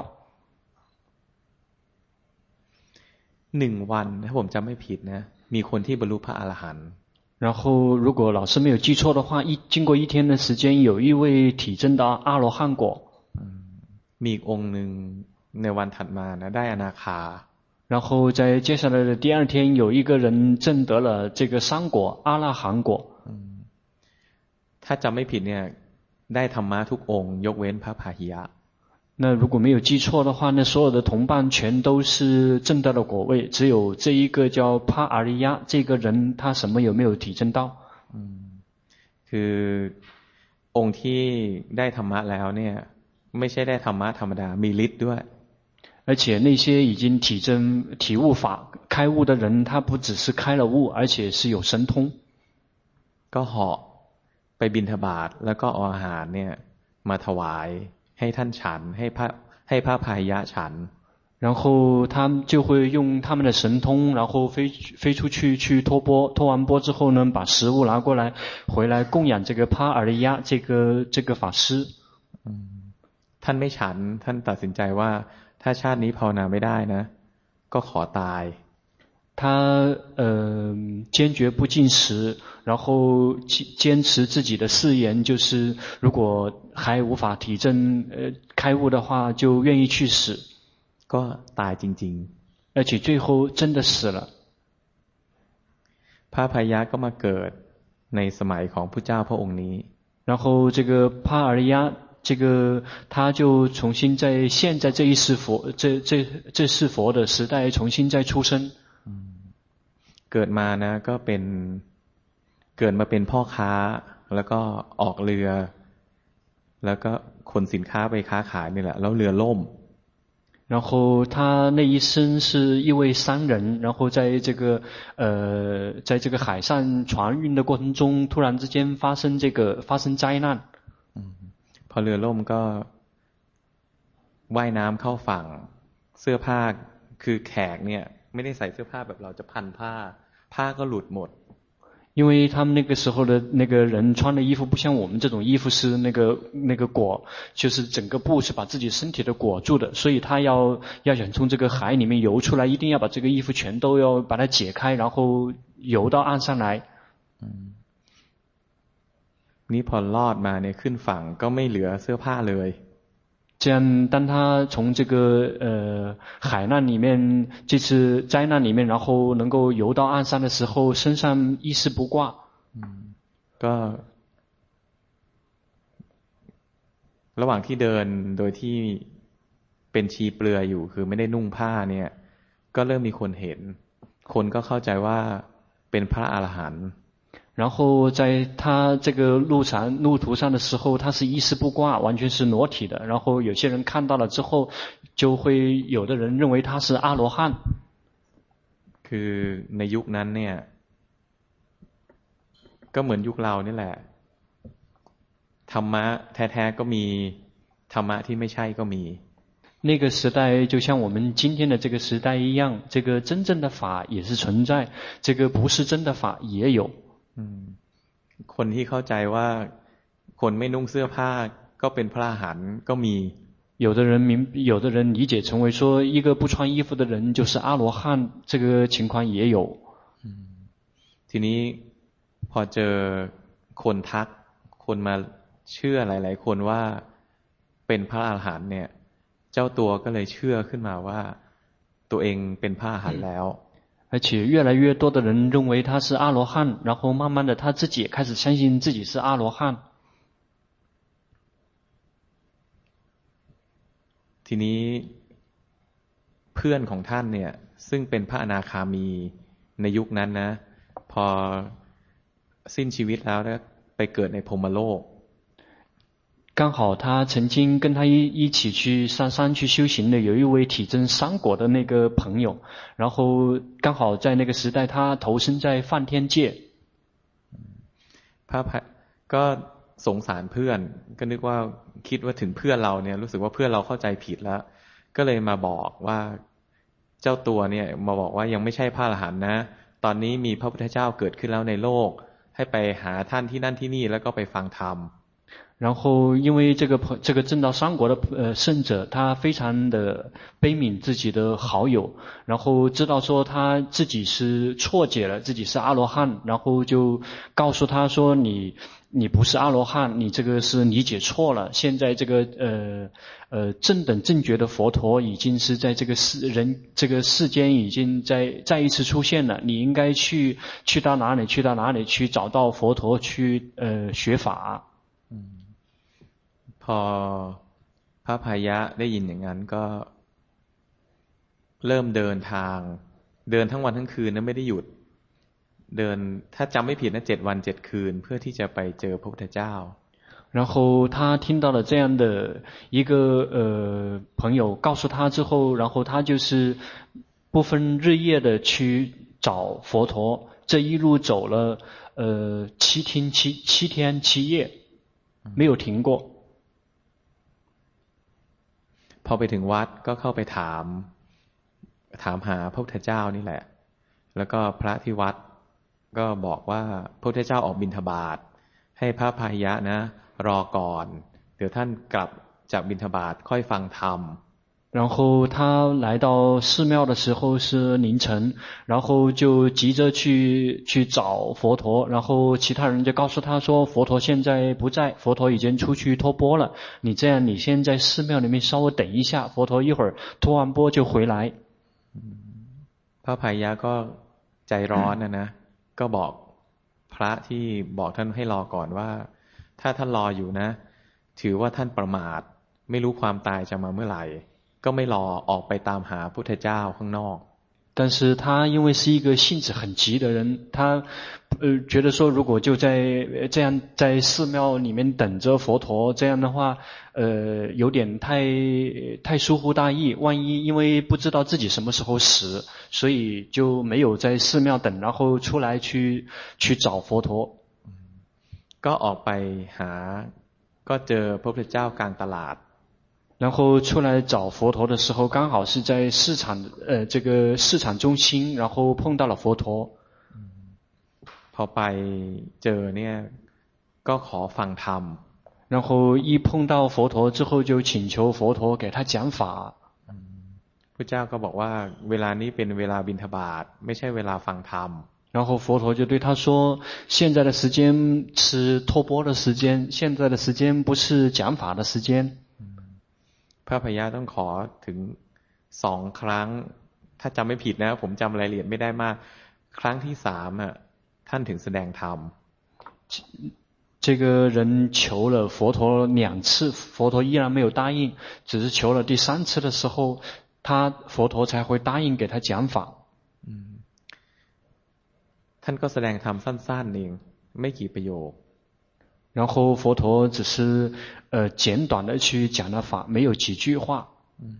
หนึ่งวันถ้าผมจำไม่ผิดนะมีคนที่บรรลุพระอรหันต์然後如果老師沒有記錯的話，一經過一天的時間，有一位體證到阿羅漢果。 มีอีกองค์หนึ่งในวันถัดมานะได้อนาคา然後在接下來的第二天，有一個人證得了這個三果阿拉罕果。 ถ้าจำไม่ผิดเนี่ยได้ธรรมะทุกองค์ยกเว้นพระพาหิยะ那如果沒有記錯的話，那所有的同伴全都是證得了果位，只有這一個叫帕阿利亞這個人，他什麼有沒有體證到？ คือองค์ที่ได้ธรรมะแล้วเนี่ยไม่ใช่ได้ธรรมะธรรมดามีฤทธิ์ด้วย而且那些已經體證體悟法開悟的人，他不只是開了悟，而且是有神通。 ก็เหาะไปบิณฑบาตแล้วก็เอาอาหารเนี่ยมาถวายให้ท่านฉันให้พระให้พระพาหิยะฉัน然後他們就會用他們的神通，然後飛飛出去去托缽，托完缽之後呢，把食物拿過來，回來供養這個帕爾利亞這個這個法師。 ท่านไม่ฉันท่านตัดสินใจว่าถ้าชาตินี้ภาวนาไม่ได้นะก็ขอตาย他呃堅決不進食，然後堅持自己的誓言，就是如果還無法體證呃開悟的話，就願意去死。 ก็ตายจริงๆ而且最後真的死了。 พระพาหิยะก็มาเกิดในสมัยของพระเจ้าพระองค์นี้然後這個帕爾利亞這個他就重新在現在這一世佛這這這世佛的時代重新再出生。 เกิดมานะก็เป็นเกิดมาเป็นพ่อค้าแล้วก็ออกเรือแล้วก็ขนสินค้าไปค้าขายนี่แหละแล้วเรือล่ม然后他那一生是一位商人，然后在这个呃，在这个海上船運的過程中，突然之間發生這個發生災難。 พอเรือล่มก็ว่ายน้ำเข้าฝั่งเสื้อผ้าคือแขกเนี่ยไม่ได้ใส่เสื้อผ้าแบบเราจะพันผ้าผ้าก็หลุดหมด因为他们那個時候的那個人穿的衣服不像我們這種衣服是那個那個裹，就是整個布是把自己身體的裹住的，所以他要要想從這個海裡面游出來，一定要把這個衣服全都要把它解開，然後游到岸上來。 嗯，นี่พอรอดมาเนี่ยขึ้นฝั่งก็ไม่เหลือเสื้อผ้าเลย這樣當他從這個呃海難裡面這次災難裡面然後能夠游到岸上的時候身上一絲不掛ก็ระหว่างที่เดินโดยที่เป็นชีเปลือยอยู่คือไม่ได้นุ่งผ้าเนี่ยก็เริ่มมีคนเห็นคนก็เข้าใจว่าเป็นพระอรหันต์然後在他這個路上路途上的時候他是一絲不掛完全是裸體的然後有些人看到了之後就會有的人認為他是阿羅漢คือในยุคนั้นเนี่ยก็เหมือนยุคเรานี่แหละธรรมะแท้ๆก็มีธรรมะที่ไม่ใช่ก็มี那個時代就像我們今天的這個時代一樣這個真正的法也是存在這個不是真的法也有คนที่เข้าใจว่าคนไม่นุ่งเสื้อผ้าก็เป็นพระอรหันต์ก็มี有的人明有的人理解成為說一個不穿衣服的人就是阿羅漢這個情況也有ทีนี้พอเจอคนทักคนมาเชื่อหลายๆคนว่าเป็นพระอรหันต์เนี่ยเจ้าตัวก็เลยเชื่อขึ้นมาว่าตัวเองเป็นพระอรหันต์แล้ว而且越來越多的人認為他是阿羅漢然後慢慢的他自己也開始相信自己是阿羅漢ทีนี้เพื่อนของท่านเนี่ยซึ่งเป็นพระอนาคามีในยุคนั้นนะพอสิ้นชีวิตแล้วไปเกิดในพรหมโลก剛好他曾經跟他一一起去上山去修行的有一位體證三果的那個朋友然後剛好在那個時代他投身在梵天界พระก็สงสารเพื่อนก็นึกว่าคิดว่าถึงเพื่อนเราเนี่ยรู้สึกว่าเพื่อนเราเข้าใจผิดแล้วก็เลยมาบอกว่าเจ้าตัวเนี่ยมาบอกว่ายังไม่ใช่พระอรหันต์นะตอนนี้มีพระพุทธเจ้าเกิดขึ้นแล้วในโลกให้ไปหาท่านที่นั่นที่นี่แล้วก็ไปฟังธรรม然後因為這個這個證到三果的呃聖者他非常的悲憫自己的好友然後知道說他自己是錯解了自己是阿羅漢然後就告訴他說你你不是阿羅漢你這個是理解錯了現在這個呃呃正等正覺的佛陀已經是在這個世人這個世間已經在再一次出現了你應該去去到哪裡去到哪裡去找到佛陀去呃學法พอพระพายะได้ยินอย่างนั้นก็เริ่มเดินทางเดินทั้งวันทั้งคืนนะไม่ได้หยุดเดินถ้าจำไม่ผิดนะเจ็ดวันเจ็ดคืนเพื่อที่จะไปเจอพระพุทธเจ้า然後他聽到了這樣的一個呃朋友告訴他之後然後他就是不分日夜的去找佛陀這一路走了呃七天七七天七夜沒有停過พอไปถึงวัดก็เข้าไปถามถามหาพระพุทธเจ้านี่แหละแล้วก็พระที่วัดก็บอกว่าพระพุทธเจ้าออกบิณฑบาตให้พระพายะนะรอก่อนเดี๋ยวท่านกลับจากบิณฑบาตค่อยฟังธรรม然後他來到寺廟的時候是凌晨然後就急着去去找佛陀然後其他人就告訴他說佛陀現在不在佛陀已經出去托缽了你這樣你先在寺廟裡面稍微等一下佛陀一會兒托完缽就回來พระพายะก็ใจร้อนนะนะก็บอกพระที่บอกท่านให้รอก่อนว่าถ้าท่านรออยู่นะถือว่าท่านประมาทไม่รู้ความตายจะมาเมื่อไหร่ก็ไม่รอออกไปตามหาพุทธเจ้าข้างนอก但是他因為是一個性子很急的人，他呃覺得說如果就在這樣在寺廟裡面等着佛陀，這樣的話呃有點太太疏忽大意，萬一因為不知道自己什麼時候死，所以就沒有在寺廟等，然後出來去去找佛陀。 ก็ออกไปหาก็เจอพระพุทธเจ้ากลางตลาด然後出來找佛陀的時候，剛好是在市場呃這個市場中心，然後碰到了佛陀。 พอไปเจอเนี่ยก็ขอฟังธรรม然後一碰到佛陀之後，就請求佛陀給他講法。 พระเจ้าก็บอกว่าเวลานี้เป็นเวลาบิณฑบาตไม่ใช่เวลาฟังธรรม然後佛陀就對他說，現在的時間是托缽的時間，現在的時間不是講法的時間。 พระพยาต้องขอถึงสองครั้งถ้าจำไม่ผิดนะผมจำรายละเอียดไม่ได้มากครั้งที่สามอ่ะท่านถึงแสดงธรรม這個人求了佛陀兩次，佛陀依然沒有答應，只是求了第三次的時候，他佛陀才會答應給他講法。 ท่านก็แสดงธรรมสั้นๆเองไม่กี่ประโยค然後佛陀只是呃簡短的去講了法，沒有幾句話。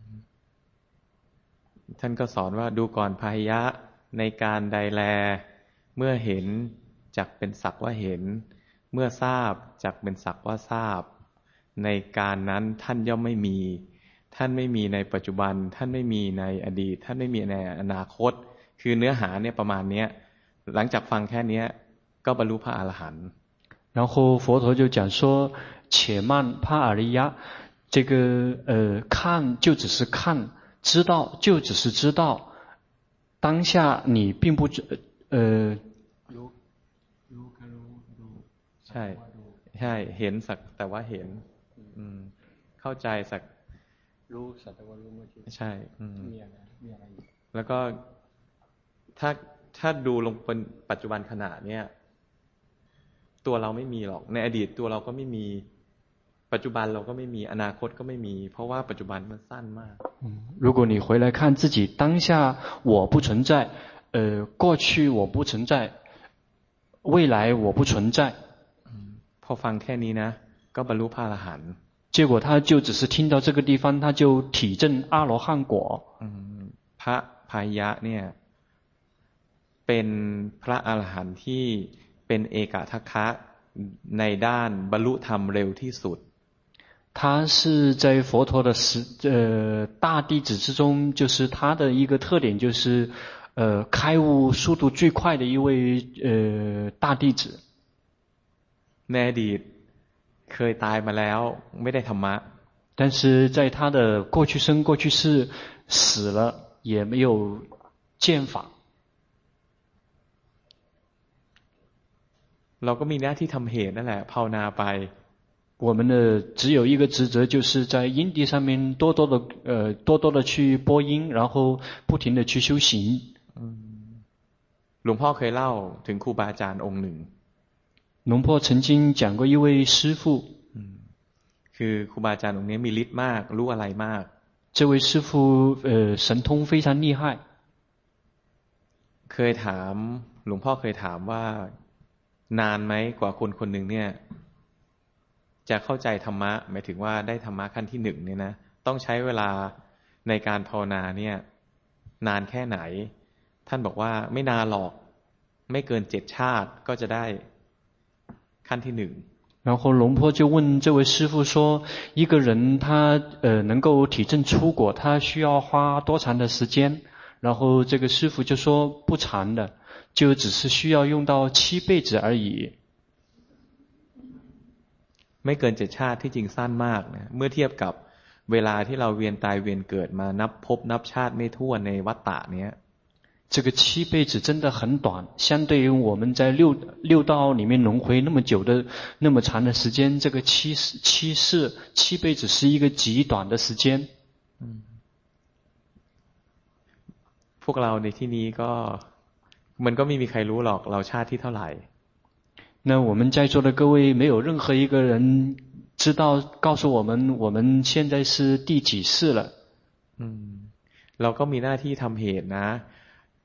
ท่านก็สอนว่าดูก่อนพาหิยะในการใดแลเมื่อเห็นจักเป็นสักว่าเห็นเมื่อทราบจักเป็นสักว่าทราบในการนั้นท่านย่อมไม่มีท่านไม่มีในปัจจุบันท่านไม่มีในอดีตท่านไม่มีในอนาคตคือเนื้อหาเนี่ยประมาณนี้หลังจากฟังแค่นี้ก็บรรลุพระอรหันต์然後佛陀就講說，且慢帕阿ริยะ，這個呃看就只是看，知道就只是知道，當下你並不呃ใช่ใช่เห็นสักแต่ว่าเห็นอืมเข้าใจสักรู้สักแต่ว่ารู้ไม่ใช่อืมมีอะไรมีอะไรแล้วก็ถ้าถ้าดูลงเป็นปัจจุบันขณะเนี้ยตัวเราไม่มีหรอกในอดีตตัวเราก็ไม่มีปัจจุบันเราก็ไม่มีอนาคตก็ไม่มีเพราะว่าปัจจุบันมันสั้นมาก如果你回來看自己當下我不存在呃過去我不存在未來我不存在พอฟังแค่นี้นะก็บรรลุพระอรหันต์結果他就只是聽到這個地方他就體證阿羅漢果พระพายะเนี่ยเป็นพระอรหันต์ที่เป็นเอกทัคคะในด้านบรรลุธรรมเร็วที่สุด他是在佛陀的十呃大弟子之中，就是他的一個特點，就是呃開悟速度最快的一位呃大弟子。 ในอดีตเคยตายมาแล้วไม่ได้ธรรมะ但是在他的過去生過去世死了也沒有見法。 เราก็มีหน้าที่ทำเหตุนั่นแหละภาวนาไป我們的只有一個職責，就是在因地上面多多的呃多多的去播因，然後不停的去修行。 หลวงพ่อเคยเล่าถึงครูบาอาจารย์องค์หนึ่งหลวงพ่อ曾經講過一位師父， คือครูบาอาจารย์องค์นี้มีฤทธิ์มากรู้อะไรมาก這位師父呃神通非常厲害。 เคยถามหลวงพ่อเคยถามว่านานไหมกว่าคนคนหนึ่งเนี่ยจะเข้าใจธรรมะหมายถึงว่าได้ธรรมะขั้นที่หนึ่งเนี่ยนะต้องใช้เวลาในการภาวนาเนี่ยนานแค่ไหนท่านบอกว่าไม่นานหรอกไม่เกินเจ็ดชาติก็จะได้ขั้นที่หนึ่ง然後龍婆就問這位師父說，一個人他呃能夠體證出果，他需要花多長的時間？然後這個師父就說不長的，就只是需要用到七輩子而已。 ไม่เกินเจ็ดชาติที่จริงสั้นมากนะเมื่อเทียบกับเวลาที่เราเวียนตายเวียนเกิดมานับภพนับชาติไม่ทั่วในวัฏฏะเนี้ย這個七輩子真的很短，相對於我們在六六道裡面輪迴那麼久的那麼長的時間，這個七七世七輩子是一個極短的時間。 พวกเราในที่นี้ก็มันก็ไม่มีใครรู้หรอกเราชาติที่เท่าไหร่那我們在座的各位沒有任何一個人知道告訴我們我們現在是第幾世了。 嗯เราก็มีหน้าที่ทำเหตุนะ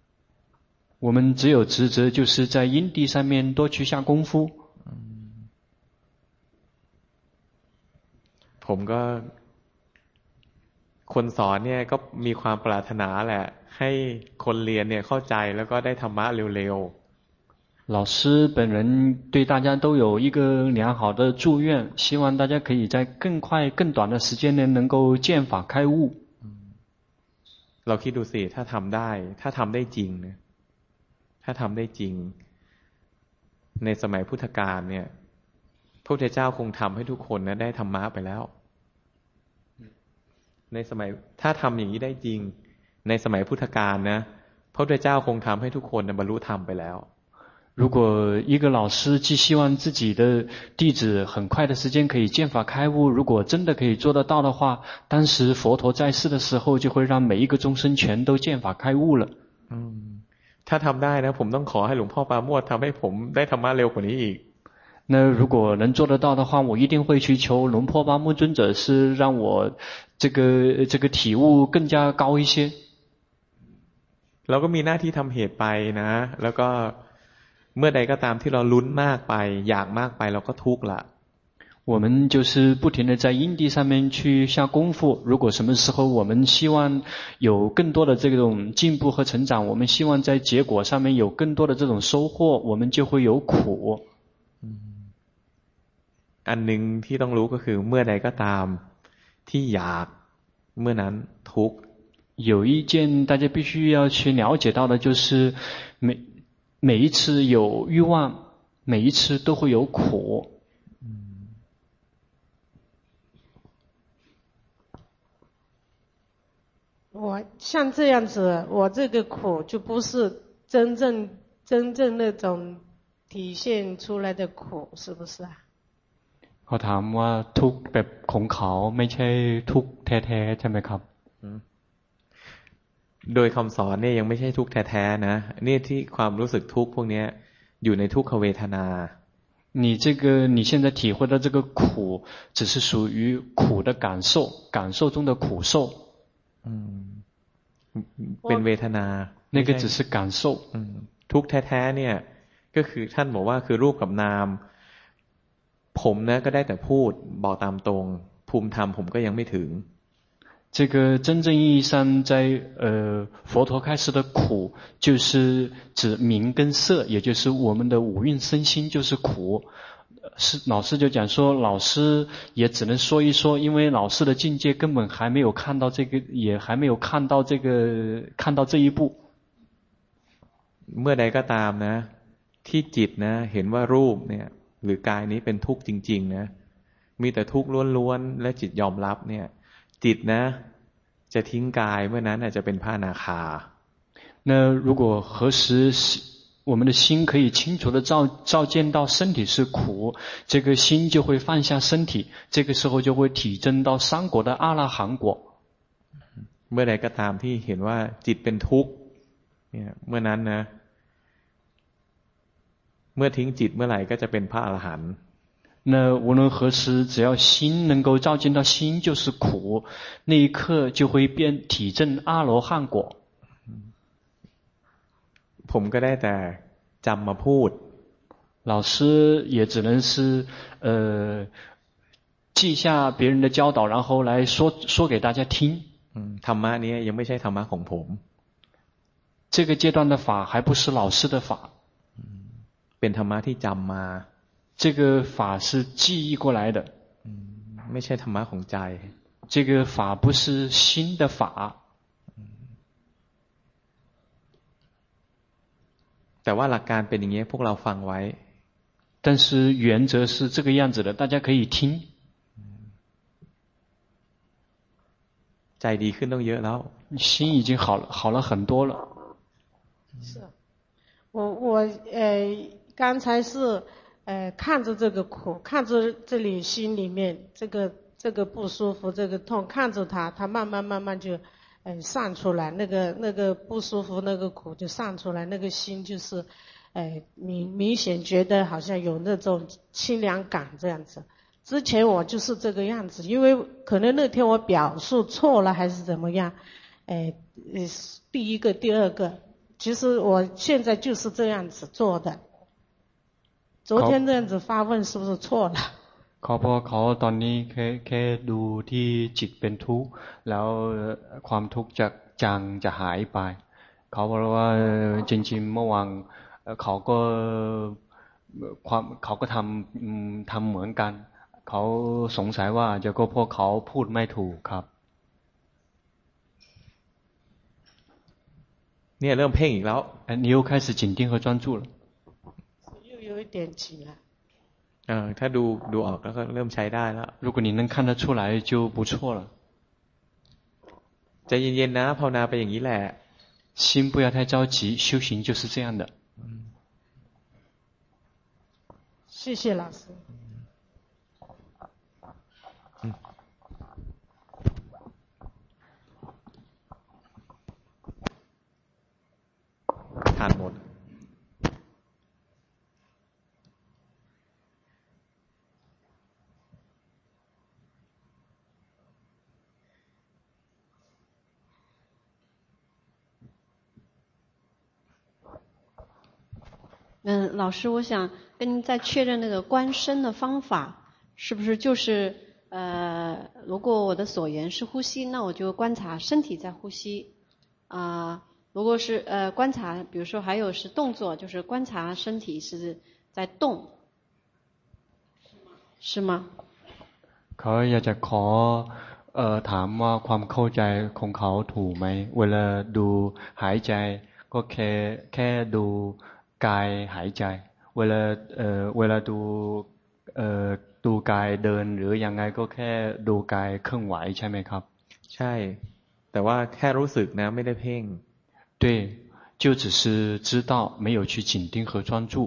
我們只有職責就是在因地上面多去下功夫。 ผมก็คนสอนเนี่ยก็มีความปรารถนาแหละให้คนเรียนเนี่ยเข้าใจแล้วก็ได้ธรรมะเร็วๆ老師本人對大家都有一個良好的祝願，希望大家可以在更快更短的時間內能夠見法開悟。 เราคิดดูสิถ้าทำได้ถ้าทำได้จริงเนี่ยถ้าทำได้จริงในสมัยพุทธกาลเนี่ยพระพุทธเจ้าคงทำให้ทุกคนนะได้ธรรมะไปแล้วในสมัยถ้าทำอย่างนี้ได้จริงในสมัยพุทธกาลนะพระพุทธเจ้าคงทำให้ทุกคนบรรลุธรรมไปแล้ว如果一個老師既希望自己的弟子很快的時間可以見法開悟，如果真的可以做得到的話，當時佛陀在世的時候就會讓每一個眾生全都見法開悟了。 嗯，ถ้าทำได้นะผมต้องขอให้หลวงพ่อปราโมทย์ทำให้ผมได้ธรรมะเร็วกว่านี้อีก那如果能做得到的話，我一定會去求龍坡巴木尊者是讓我這個這個體悟更加高一些。 เราก็มีหน้าที่ทำเหตุไปนะแล้วก็เมื่อใดก็ตามที่เราลุ้นมากไปอยากมากไปเราก็ทุกข์ละ我們就是不停地在因地上面去下功夫，如果什麼時候我們希望有更多的這種進步和成長，我們希望在結果上面有更多的這種收穫，我們就會有苦。 อันหนึ่งที่ต้องรู้ก็คือเมื่อใดก็ตามที่อยากเมื่อนั้นทุกข์有一件大家必須要去了解到的就是每每一次有欲望每一次都會有苦我像這樣子我這個苦就不是真正真正那種體現出來的苦是不是啊เขาถามว่าทุกข์แบบของเขาไม่ใช่ทุกข์แท้ๆใช่ไหมครับโดยคำสอนเนี่ยยังไม่ใช่ทุกข์แท้ๆนะนี่ที่ความรู้สึกทุกข์พวกนี้อยู่ในทุกขเวทนา你這個你現在體會到這個苦只是屬於苦的感受感受中的苦受เป็นเวทนา那個只是感受ทุกข์แท้ๆเนี่ยก็คือท่านบอกว่าคือรูปกับนามผมนะก็ได้แต่พูดบอกตามตรงภูมิธรรมผมก็ยังไม่ถึง這個真正意義上在呃佛陀開示的苦就是指名跟色也就是我們的五蘊身心就是苦是老師就講說老師也只能說一說因為老師的境界根本還沒有看到這個也還沒有看到這個看到這一步เมื่อใดก็ตามนะที่จิตนะเห็นว่ารูปเนี่ยหรือกายนี้เป็นทุกข์จริงๆนะมีแต่ทุกข์ล้วนๆและจิตยอมรับเนี่ยจิตนะจะทิ้งกายเมื่อนั้นอาจจะเป็นพระอนาคา那如果何時我們的心可以清楚地照照見到身體是苦這個心就會放下身體這個時候就會體證到三果的阿拉含果เมื่อใดก็ตามที่เห็นว่าจิตเป็นทุกข์เนี่ยเมื่อนั้นนะเมื่อทิ้งจิตเมื่อไหร่ก็จะเป็นพระอรหันต์那無論何時只要心能夠照見到心就是苦那一刻就會變體證阿羅漢果ผมก็ได้แต่จำมาพูด老師也只能是呃記下別人的教導然後來說說給大家聽ธรรมะนี้ยังไม่ใช่ธรรมะของผม這個階段的法還不是老師的法เป็นธรรมะที่จำมา這個法是記憶過來的ไม่ใช่ธรรมะของใจ這個法不是心的法แต่ว่าหลักการเป็นอย่างนี้พวกเราฟังไว้但是原則是這個樣子的大家可以聽ใจดีขึ้นต้องเยอะแล้ว心已經好了好了很多了是我我呃剛才是呃，看着這個苦，看着這裡心裡面這個這個不舒服，這個痛，看着它，它慢慢慢慢就，呃，散出來，那個那個不舒服，那個苦就散出來，那個心就是，呃，明明顯覺得好像有那種清涼感這樣子。之前我就是這個樣子，因為可能那天我表述錯了還是怎麼樣，呃，第一個第二個其實我現在就是這樣子做的。昨天這樣子發問是不是錯了？ เขาเพราะเขาตอนนี้แค่แค่ดูที่จิตเป็นทุกข์แล้วความทุกข์จะจางจะหายไปเขาบอกว่าจริงๆเมื่อวานเขาก็ความเขาก็ทำทำเหมือนกันเขาสงสัยว่าจะก็เพราะเขาพูดไม่ถูกครับเนี่ยเริ่มเพ่งอีกแล้ว你又开始紧盯和专注了又有一点起了เออถ้าดูดูออกแล้วก็เริ่มใช้ได้แล้ว如果你能看得出来就不错了ใจเย็นๆนะภาวนาไปอย่างนี้แหละ心不要太着急修行就是这样的謝謝老師ทานหมด嗯，老師，我想跟您再確認那個觀身的方法，是不是就是呃，如果我的所緣是呼吸，那我就觀察身體在呼吸啊、呃。如果是呃觀察，比如說還有是動作，就是觀察身體是在動，是嗎？ เขาอยากจะขอเอ่อถามว่าความเข้าใจของเขาถูกไหมเวลาดูหายใจก็แค่แค่ดูกายหายใจเวลาเอ่อเวลาดูเอ่อดูกายเดินหรือยังไงก็แค่ดูกายเคลื่อนไหวใช่ไหมครับใช่แต่ว่าแค่รู้สึกนะไม่ได้เพ่ง对就只是知道没有去緊盯和專注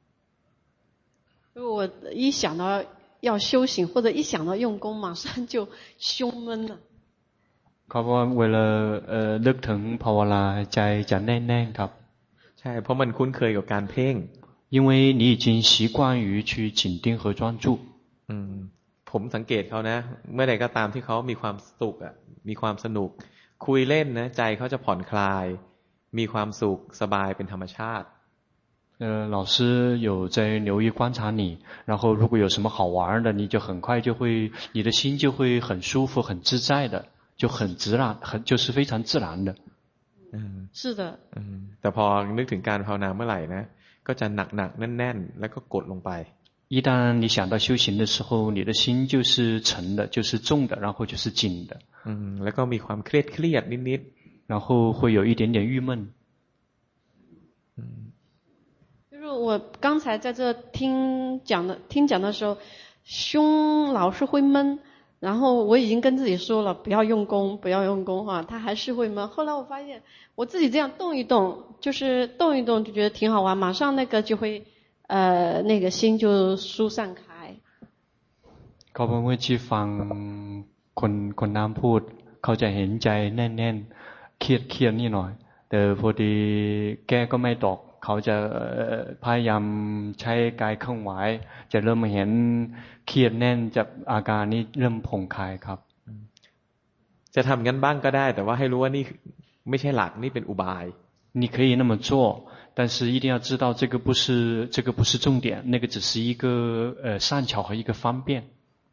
我一想到要修行或者一想到用功馬上就胸悶了เขาบอกว่าเวลาเอ่อนึกถึงภาวนาใจจะแน่นๆครับใช่เพราะมันคุ้นเคยกับการเพ่ง因为你已经習慣於去緊盯和專注อืมผมสังเกตเขานะเมื่อใดก็ตามที่เขามีความสุขอ่ะมีความสนุกคุยเล่นนะใจเขาจะผ่อนคลายมีความสุขสบายเป็นธรรมชาติ呃，老師有在留意觀察你，然後如果有什麼好玩的，你就很快就會，你的心就會很舒服、很自在的，就很自然，很就是非常自然的。 嗯， 是的。 嗯，แต่พอนึกถึงการภาวนาเมื่อไหร่นะก็จะหนักๆแน่นๆแล้วก็กดลงไป一旦你想到修行的時候，你的心就是沉的，就是重的，然後就是緊的。 嗯，แล้วก็มีความเครียดเครียดนิดๆ，然後會有一點點鬱悶。 嗯。 就是我剛才在這聽講的聽講的時候，胸老是會悶，然後我已經跟自己說了不要用功，不要用功哈，它還是會悶。後來我發現我自己這樣動一動，就是動一動就覺得挺好玩，馬上那個就會呃那個心就疏散開。 เขาบอกว่าที่ฟังคนคนน้ำพูดเขาจะเห็นใจแน่นๆเครียดเครียดนิดหน่อยแต่พอดีแก้ก็ไม่ตกเขาจะพยายามใช้กายเคลื่อนไหวจะเริ่มเห็นเครียดแน่นจากอาการนี้เริ่มผ่อนคลายครับจะทำงั้นบ้างก็ได้แต่ว่าให้รู้ว่านี่ไม่ใช่หลักนี่เป็นอุบาย你可以那么做但是一定要知道这個不是這個不是重點那個只是一個呃善巧和一個方便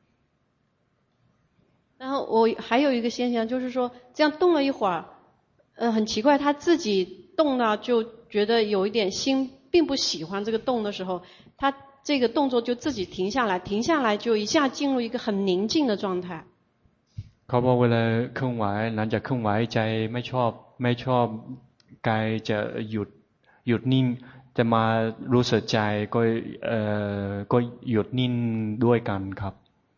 然後我還有一個現象就是說這樣動了一會兒呃很奇怪他自己動了就覺得有一點心並不喜歡這個動的時候他這個動作就自己停下來停下來就一下進入一個很寧靜的狀態เขาบอกเวลาเคลื่อนไหวหลังจากเคลื่อนไหวใจไม่ชอบไม่ชอบกายจะหยุดหยุดนิ่งจะมารู้สึกใจก็เอ่อก็หยุดนิ่งด้วยกันครับ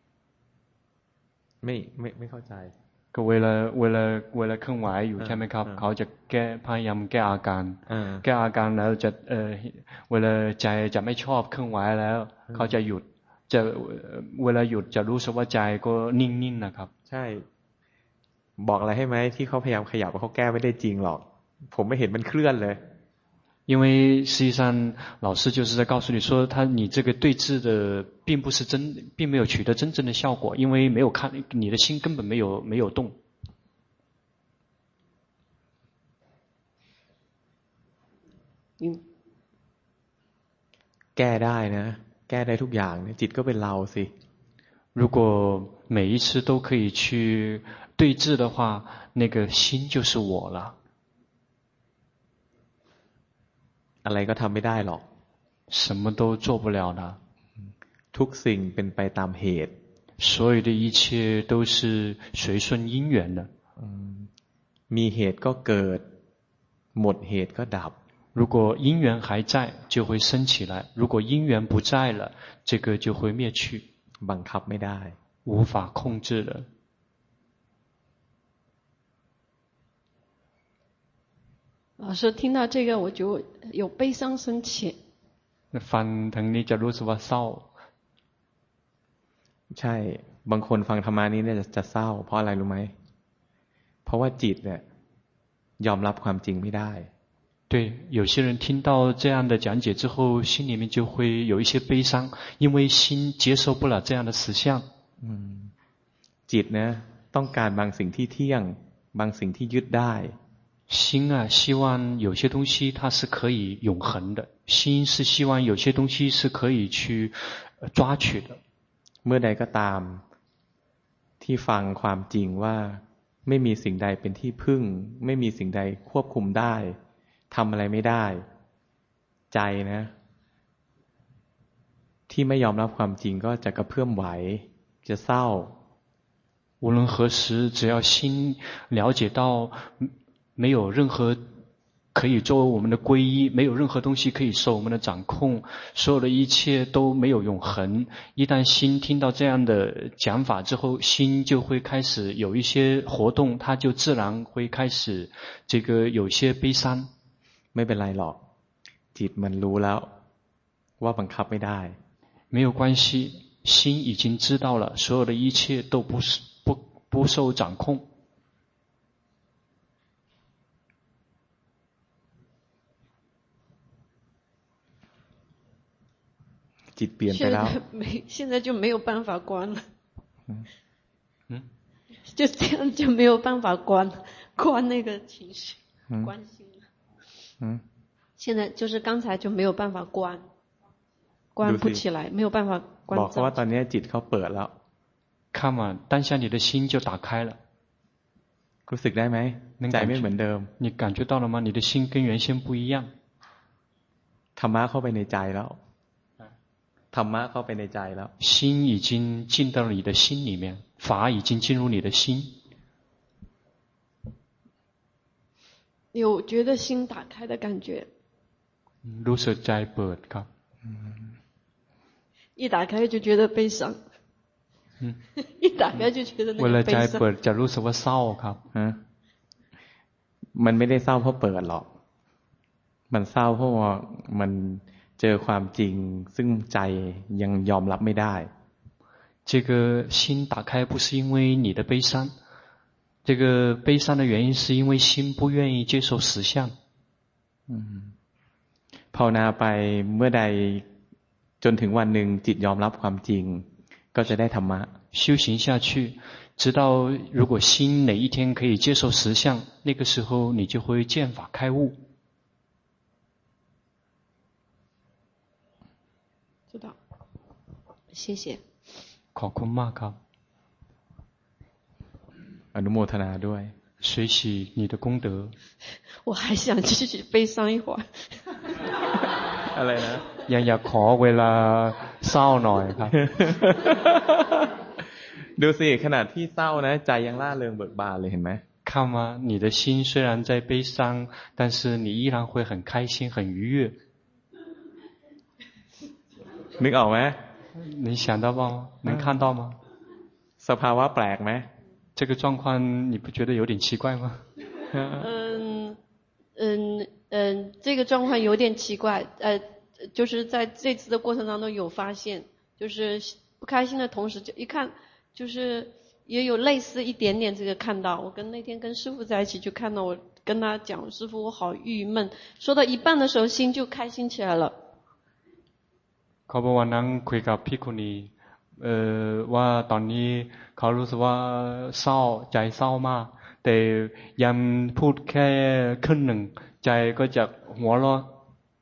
ไม่ไม่ไม่เข้าใจก็เวลาเวลาเวลาเคลื่อนไหวอยู่ใช่ไหมครับเขาจะแก้พยายามแก้อาการแก้อาการแล้วจะเอ่อเวลาใจจะไม่ชอบเคลื่อนไหวแล้วเขาจะหยุดจะเวลาหยุดจะรู้สึกว่าใจก็นิ่งๆนะครับใช่บอกอะไรให้ไหมที่เขาพยายามขยับเขาแก้ไม่ได้จริงหรอกผมไม่เห็นมันเคลื่อนเลย因为實際上老師就是在告訴你說他你這個對峙的並不是真並沒有取得真正的效果因為沒有看你的心根本沒有沒有動嗯， แก้ได้นะแก้ได้ทุกอย่างเนี่ยจิตก็เป็นเราสิ如果每一次都可以去对治的话，那个心就是我了。 อะไรก็ทำไม่ได้หรอก什么都做不了的。 ทุกสิ่งเป็นไปตามเหตุ所有的一切都是隨順因緣的。 มีเหตุก็เกิดหมดเหตุก็ดับ如果因緣還在就會升起來，如果因緣不在了，這個就會滅去。 บังคับไม่ได้無法控制的。 老師聽到這個我就有悲傷升起。 ฟังทางนี้จะรู้สึกว่าเศร้าใช่บางคนฟังธรรมานี้เนี่ยจะเศร้าเพราะอะไรรู้ไหมเพราะว่าจิตเนี่ยยอมรับความจริงไม่ได้对，有些人聽到這樣的講解之後，心裡面就會有一些悲傷，因為心接受不了這樣的實相。 嗯，จิต呢ต้องการบางสิ่งที่เที่ยงบางสิ่งที่ยึดได้心啊，希望有些東西它是可以永恆的，心是希望有些東西是可以去抓取的。 เมื่อใดก็ตามที่ฟังความจริงว่าไม่มีสิ่งใดเป็นที่พึ่งไม่มีสิ่งใดควบคุมได้ทำอะไรไม่ได้ใจนะที่ไม่ยอมรับความจริงก็จะกระเพื่อมไหวจะเศร้า無論何時只要心了解到沒有任何可以作為我們的皈依，沒有任何東西可以受我們的掌控，所有的一切都沒有永恆。一旦心聽到這樣的講法之後，心就會開始有一些活動，它就自然會開始這個有些悲傷。 ไม่เป็นไรหรอกจิตมันรู้แล้วว่าบังคับไม่ได้沒有關係，心已經知道了，所有的一切都不是不不受掌控。 จิตเปลี่ยนไปแล้ว現在就沒有辦法關了嗯嗯就這樣就沒有辦法關關那個情緒關心了嗯現在就是剛才就沒有辦法關關不起來沒有辦法關บอกเขาว่าตอนนี้จิตเขาเปิดแล้ว看嘛當下你的心就打開了รู้สึกได้ไหมใจไม่เหมือนเดิม你感覺到了嗎你的心跟原先不一樣ธรรมะเข้าไปในใจแล้วธรรมะเข้าไปในใจแล้ว心已經進到你的心裡面法已經進入你的心有覺得心打開的感覺รู้สึกใจเปิดครับ一打開就覺得悲傷一打開就覺得那個悲傷เวลาใจเปิดจะรู้สึกว่าเศร้าครับมันไม่ได้เศร้าเพราะเปิดหรอกมันเศร้าเพราะว่ามันเจอความจริงซึ่งใจยังยอมรับไม่ได้這個心打開不是因為你的悲傷這個悲傷的原因是因為心不願意接受實相ภาวนาไปเมื่อใดจนถึงวันหนึ่งจิตยอมรับความจริงก็จะได้ธรรมะ修行下去直到如果心哪一天可以接受實相那個時候你就會見法開悟知道謝謝ขอบคุณมากครับอนุโมทนาด้วย隨喜你的功德我還想繼續悲傷一會兒อะไรนะยังอยากขอเวลาเศร้าหน่อยครับดูสิขนาดที่เศร้านะใจยังร่าเริงเบิกบานเลยเห็นไหม看嗎你的心雖然在悲傷但是你依然會很開心很愉悅นึกออกไหม你想到嗎能看到嗎สภาวะแปลกไหม這個狀況你不覺得有點奇怪嗎嗯嗯嗯這個狀況有點奇怪呃就是在這次的過程當中有發現就是不開心的同時就一看就是也有類似一點點這個看到我跟那天跟師父在一起就看到我跟他講師父我好鬱悶說到一半的時候心就開心起來了เขาบอกว่านั่งคุยกับภิกขุณีเอ่อว่าตอนนี้เขารู้สึกว่าเศร้าใจเศร้ามากแต่ยังพูดแค่ครึ่งหนึ่งใจก็จะหัวเราะ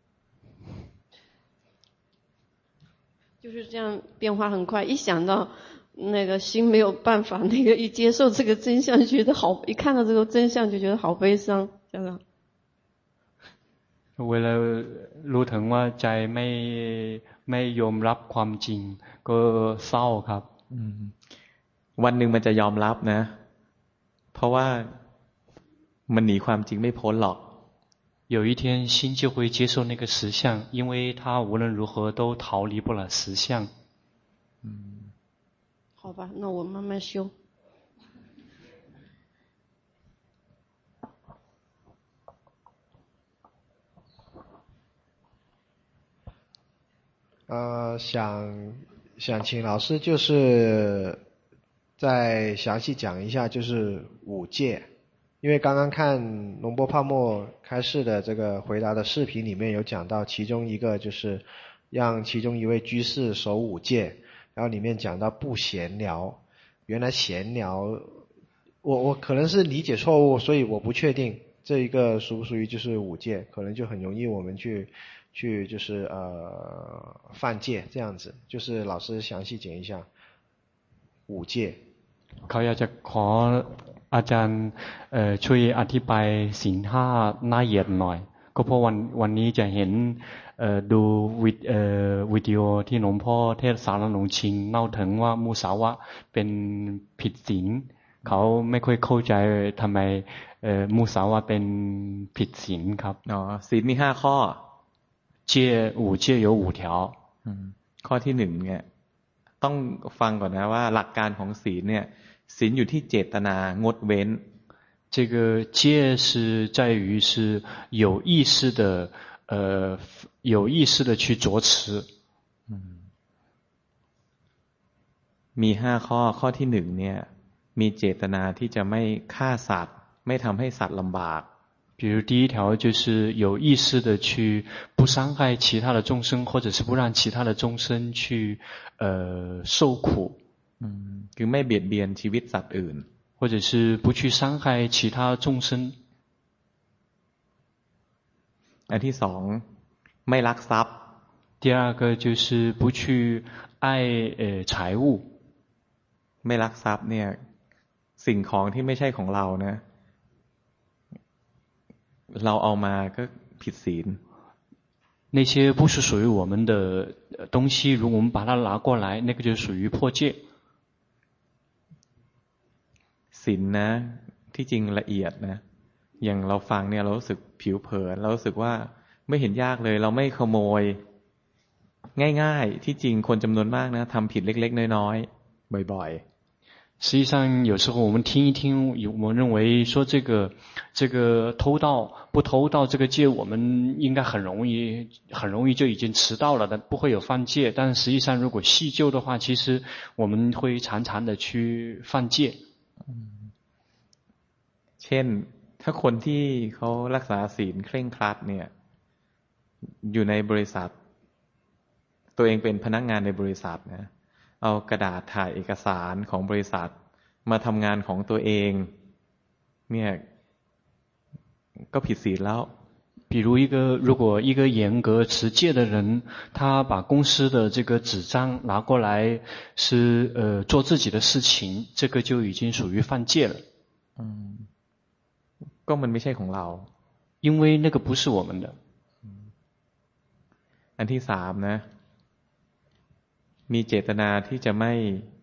就是這樣變化很快，一想到那個心沒有辦法，那個一接受這個真相，覺得好，一看到這個真相就覺得好悲傷，這樣。 เวลารู้ถึงว่าใจไม่ไม่ยอมรับความจริงก็เศร้าครับวันหนึ่งมันจะยอมรับนะเพราะว่ามันหนีความจริงไม่พ้นหรอก有一天心就会接受那個實相，因為它無論如何都逃離不了實相。 嗯，好吧，那我慢慢修。 呃，想想請老師就是再詳細講一下，就是五戒。因為剛剛看龍波泡沫開示的這個回答的視頻裡面有講到，其中一個就是讓其中一位居士守五戒，然後裡面講到不閒聊。原來閒聊，我我可能是理解錯誤，所以我不確定這一個屬不屬於就是五戒，可能就很容易我們去去就是呃犯戒這樣子。就是老師詳細講一下五戒。 เขาอยากจะขออาจารย์ช่วยอธิบายศีลห้าละเอียดหน่อยก็เพราะวันวันนี้จะเห็นดูวิดีโอที่หลวงพ่อเทศสารหลวงชิงเล่าถึงว่ามุสาวะเป็นผิดศีลเขาไม่ค่อยเข้าใจทำไมมุสาวะเป็นผิดศีลครับอ๋อศีลมีห้าข้อ戒五戒有五条ข้อที่หนึ่งเนี่ยต้องฟังก่อนนะว่าหลักการของศีลเนี่ยศีลอยู่ที่เจตนางดเว้น这个戒是在於是有意識的呃有意識的去着持มีห้าข้อข้อที่หนึ่งเนี่ยมีเจตนาที่จะไม่ฆ่าสัตว์ไม่ทำให้สัตว์ลำบาก比如第一條就是有意識的去不傷害其他的眾生，或者是不讓其他的眾生去呃受苦คือไม่เบียดเบียนชีวิตสัตว์อื่น或者是不去傷害其他眾生อันที่สองไม่ลักทรัพย์第二個就是不去愛呃財物ไม่ลักทรัพย์เนี่ยสิ่งของที่ไม่ใช่ของเรานะเราเอามาก็ผิดศีล那些不是屬於我們的東西，如果我們把它拿過來，那個就屬於破戒。 ศีลนะที่จริงละเอียดนะอย่างเราฟังเนี่ยเรารู้สึกผิวเผินเรารู้สึกว่าไม่เห็นยากเลยเราไม่ขโมยง่ายๆที่จริงคนจำนวนมากนะทำผิดเล็กๆน้อยๆบ่อยๆ實際上有時候我們聽一聽，我們認為說這個這個偷盜不偷盜這個戒我們應該很容易很容易就已經持到了的，不會有犯戒。但實際上如果細究的話，其實我們會常常的去犯戒。 เช่นถ้าคนที่เขารักษาศีลเคร่งครัดเนี่ยอยู่ในบริษัทตัวเองเป็นพนักงานในบริษัทนะเอากระดาษถ่ายเอกสารของบริษัทมาทำงานของตัวเองเนี่ยก็ผิดศีลแล้ว比如一個如果一個嚴格持戒的人，他把公司的這個紙張拿過來是呃做自己的事情，這個就已經屬於犯戒了。 嗯，ก็มันไม่ใช่ของเรา因為那個不是我們的。 อันที่สามนะมีเจตนาที่จะไม่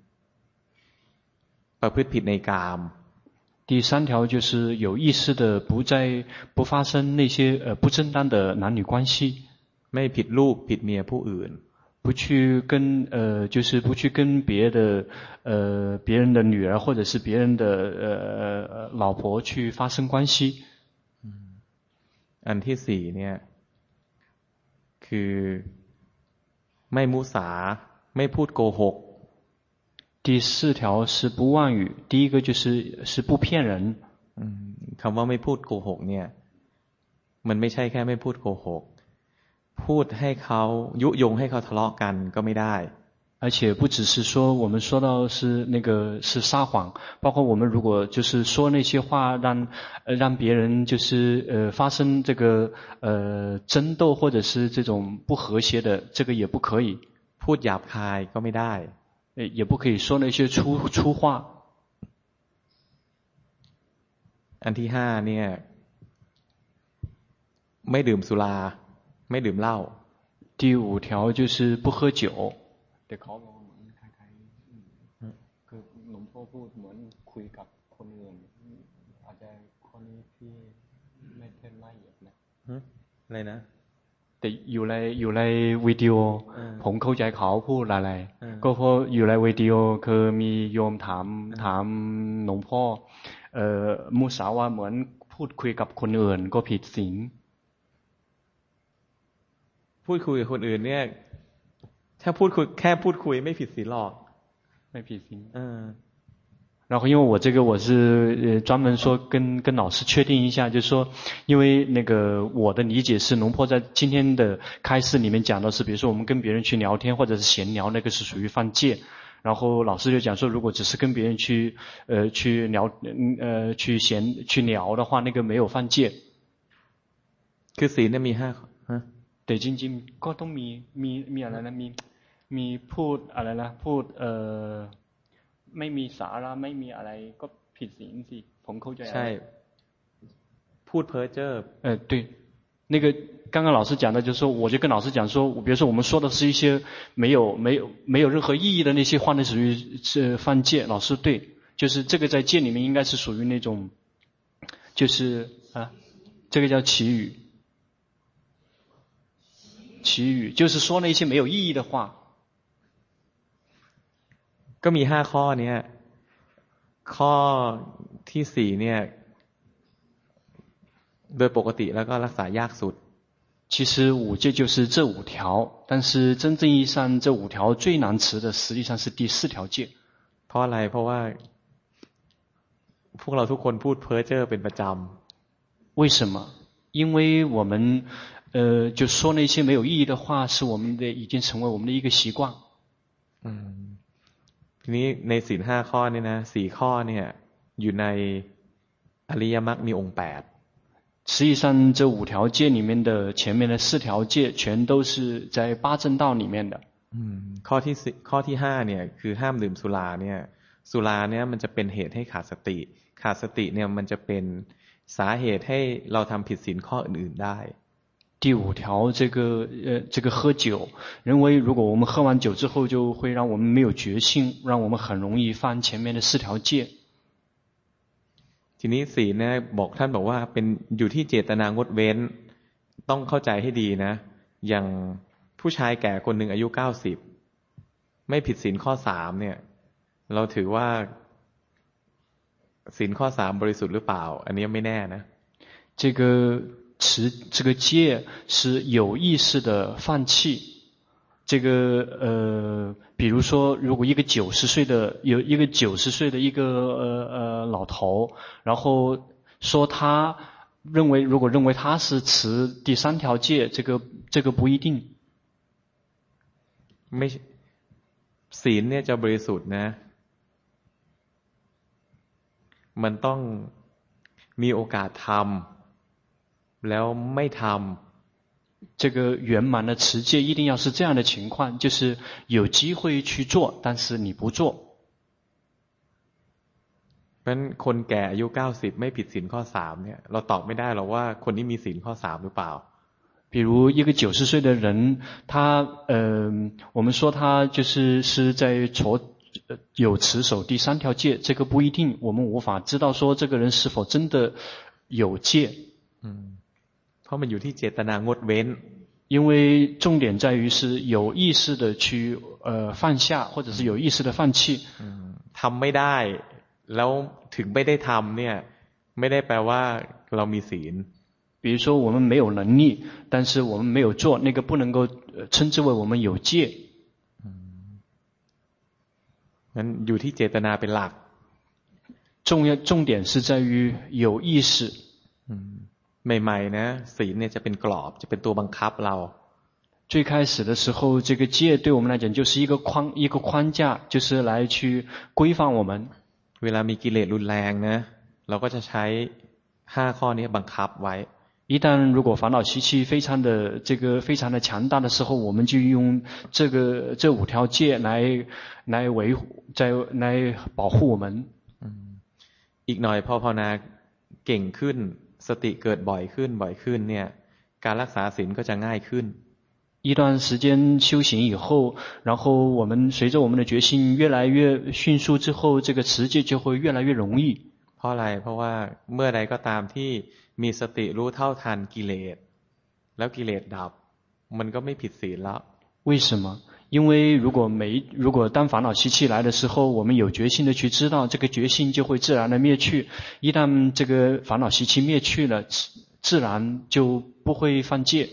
ประพฤติผิดในกาม第三條就是有意識的不再不發生那些呃不正當的男女關係ไม่ผิดลูกผิดเมียผู้อื่น不去跟呃就是不去跟別的呃別人的女兒或者是別人的呃老婆去發生關係อันที่สี่เนี่ยคือไม่มุสาไม่พูดโกหก第四條是不妄語，第一個就是是不騙人。 คำว่าไม่พูดโกหกเนี่ยมันไม่ใช่แค่ไม่พูดโกหกพูดให้เขายุยงให้เขาทะเลาะกันก็ไม่ได้而且不只是說我們說到是那個是撒謊，包括我們如果就是說那些話讓呃讓別人就是呃發生這個呃爭鬥或者是這種不和諧的，這個也不可以。 พูดหยาบคายก็ไม่ได้也不可以说那些粗粗话อันที่ห้าเนี่ยไม่ดื่มสุราไม่ดื่มเหล้า第五条就是不喝酒แต่เขาบอกเหมือนคล้ายๆคือหลวงพ่อพูดเหมือนคุยกับคนอื่นอาจจะคนนี้ที่ไม่เท่นละเอียดนะอะไรนะแต่อยู่ในอยู่ในวิดีโอผมเข้าใจเขาพูดอะไรก็เพราะอยู่ในวิดีโอคือมีโยมถามถามหลวงพ่อเอ่อมุสาวาเหมือนพูดคุยกับคนอื่นก็ผิดศีลพูดคุยกับคนอื่นเนี่ยถ้าพูดคุยแค่พูดคุยไม่ผิดศีลหรอกไม่ผิดศีล嗯然后因为我这个我是呃专门说跟跟老師確定一下，就是說因為那個我的理解是龍婆在今天的開示裡面講的是，比如說我們跟別人去聊天或者是閒聊，那個是屬於犯戒。然後老師就講說，如果只是跟別人去呃去聊呃去閒去聊的話，那個沒有犯戒。 คือศีลเนี่ยมีห้าฮะแต่จริงๆก็ต้องมีมีมีอะไรนะมีมีพูดอะไรนะพูดเอ่อไม่มีสาระไม่มีอะไรก็ผิดศีลสิผมเข้าใจใช่พูดเพ้อเจ้อ呃对那个刚刚老師講的就是說我就跟老師講說比如說我們說的是一些沒有沒有沒有任何意義的那些話呢屬於是犯戒老師對就是這個在戒裡面應該是屬於那種就是啊這個叫綺語綺語就是說那些沒有意義的話ก็มีห้าข้อเนี้ยข้อที่สี่เนี่ยโดยปกติแล้วก็รักษายากสุด其實五戒就是這五條但是真正意義上這五條最難持的實際上是第四條戒เพราะอะไรเพราะว่าพวกเราทุกคนพูดเพ้อเจ้อเป็นประจำ為什麼因為我們呃就說那些沒有意義的話是我們的已經成為我們的一個習慣嗯ทีนี้ในศีลห้าข้อนี่นะสี่ข้อเนี่ยอยู่ในอริยมรรคมีองค์แปด實際上這五條戒裡面的前面的四條戒全都是在八正道裡面的ข้อที่ข้อที่ห้าเนี่ยคือห้ามดื่มสุราเนี่ยสุราเนี่ยมันจะเป็นเหตุให้ขาดสติขาดสติเนี่ยมันจะเป็นสาเหตุให้เราทำผิดศีลข้ออื่นๆได้第五條這個呃這個喝酒認為如果我們喝完酒之後就會讓我們沒有覺性讓我們很容易犯前面的四條戒ทีนี้ศีลเนี่ยบอกท่านบอกว่าเป็นอยู่ที่เจตนางดเว้นต้องเข้าใจให้ดีนะอย่างผู้ชายแก่คนหนึ่งอายุเก้าสิบไม่ผิดศีลข้อสามเนี่ยเราถือว่าศีลข้อสามบริสุทธิ์หรือเปล่าอันนี้ไม่แน่นะ這個持這個戒是有意識的放棄這個呃比如說如果一個九十歲的有一個九十歲的一個呃呃老頭然後說他認為如果認為他是持第三條戒這個這個不一定ไม่ศีลเนี่ยจะบริสุทธิ์นะมันต้องมีโอกาสทำแล้วไม่ทำ這個圓滿的持戒一定要是這樣的情況就是有機會去做但是你不做เพราะฉะนั้นคนแก่อายุเก้าสิบไม่ผิดศีลข้อสามเนี่ยเราตอบไม่ได้หรอกว่าคนนี้มีศีลข้อสามหรือเปล่า比如一個九十歲的人他呃我們說他就是是在做有持守第三條戒這個不一定我們無法知道說這個人是否真的有戒嗯เพราะมันอยู่ที่เจตนางดเว้น因為重點在於是有意識的去呃放下或者是有意識的放棄ทำไม่ได้แล้วถึงไม่ได้ทำเนี่ยไม่ได้แปลว่าเรามีศีล比如說我們沒有能力但是我們沒有做那個不能夠稱之為我們有戒งั้นอยู่ที่เจตนาเป็นหลัก重要重點是在於有意識ใหม่ๆนะศีลเนี่ยจะเป็นกรอบจะเป็นตัวบังคับเรา最開始的時候這個戒對我們來講就是一個框一個框架就是來去規範我們เวลามีกิเลสรุนแรงนะเราก็จะใช้ห้าข้อนี้บังคับไว้一旦如果煩惱習氣非常的這個非常的強大的時候，我們就用這個這五條戒來來維護，在來保護我們。 อีกหน่อยพอภาวนาเก่งขึ้นสติเกิดบ่อยขึ้นบ่อยขึ้นเนี่ยการรักษาศีลก็จะง่ายขึ้น一段時間修行以後，然後我們隨着我們的決心越來越迅速之後，這個持戒就會越來越容易。 เพราะอะไรเพราะว่าเมื่อใดก็ตามที่มีสติรู้เท่าทันกิเลสแล้วกิเลสดับมันก็ไม่ผิดศีลแล้ว為什麼？因為如果沒如果當煩惱習氣來的時候，我們有決心的去知道，這個決心就會自然的滅去。一旦這個煩惱習氣滅去了，自然就不會犯戒。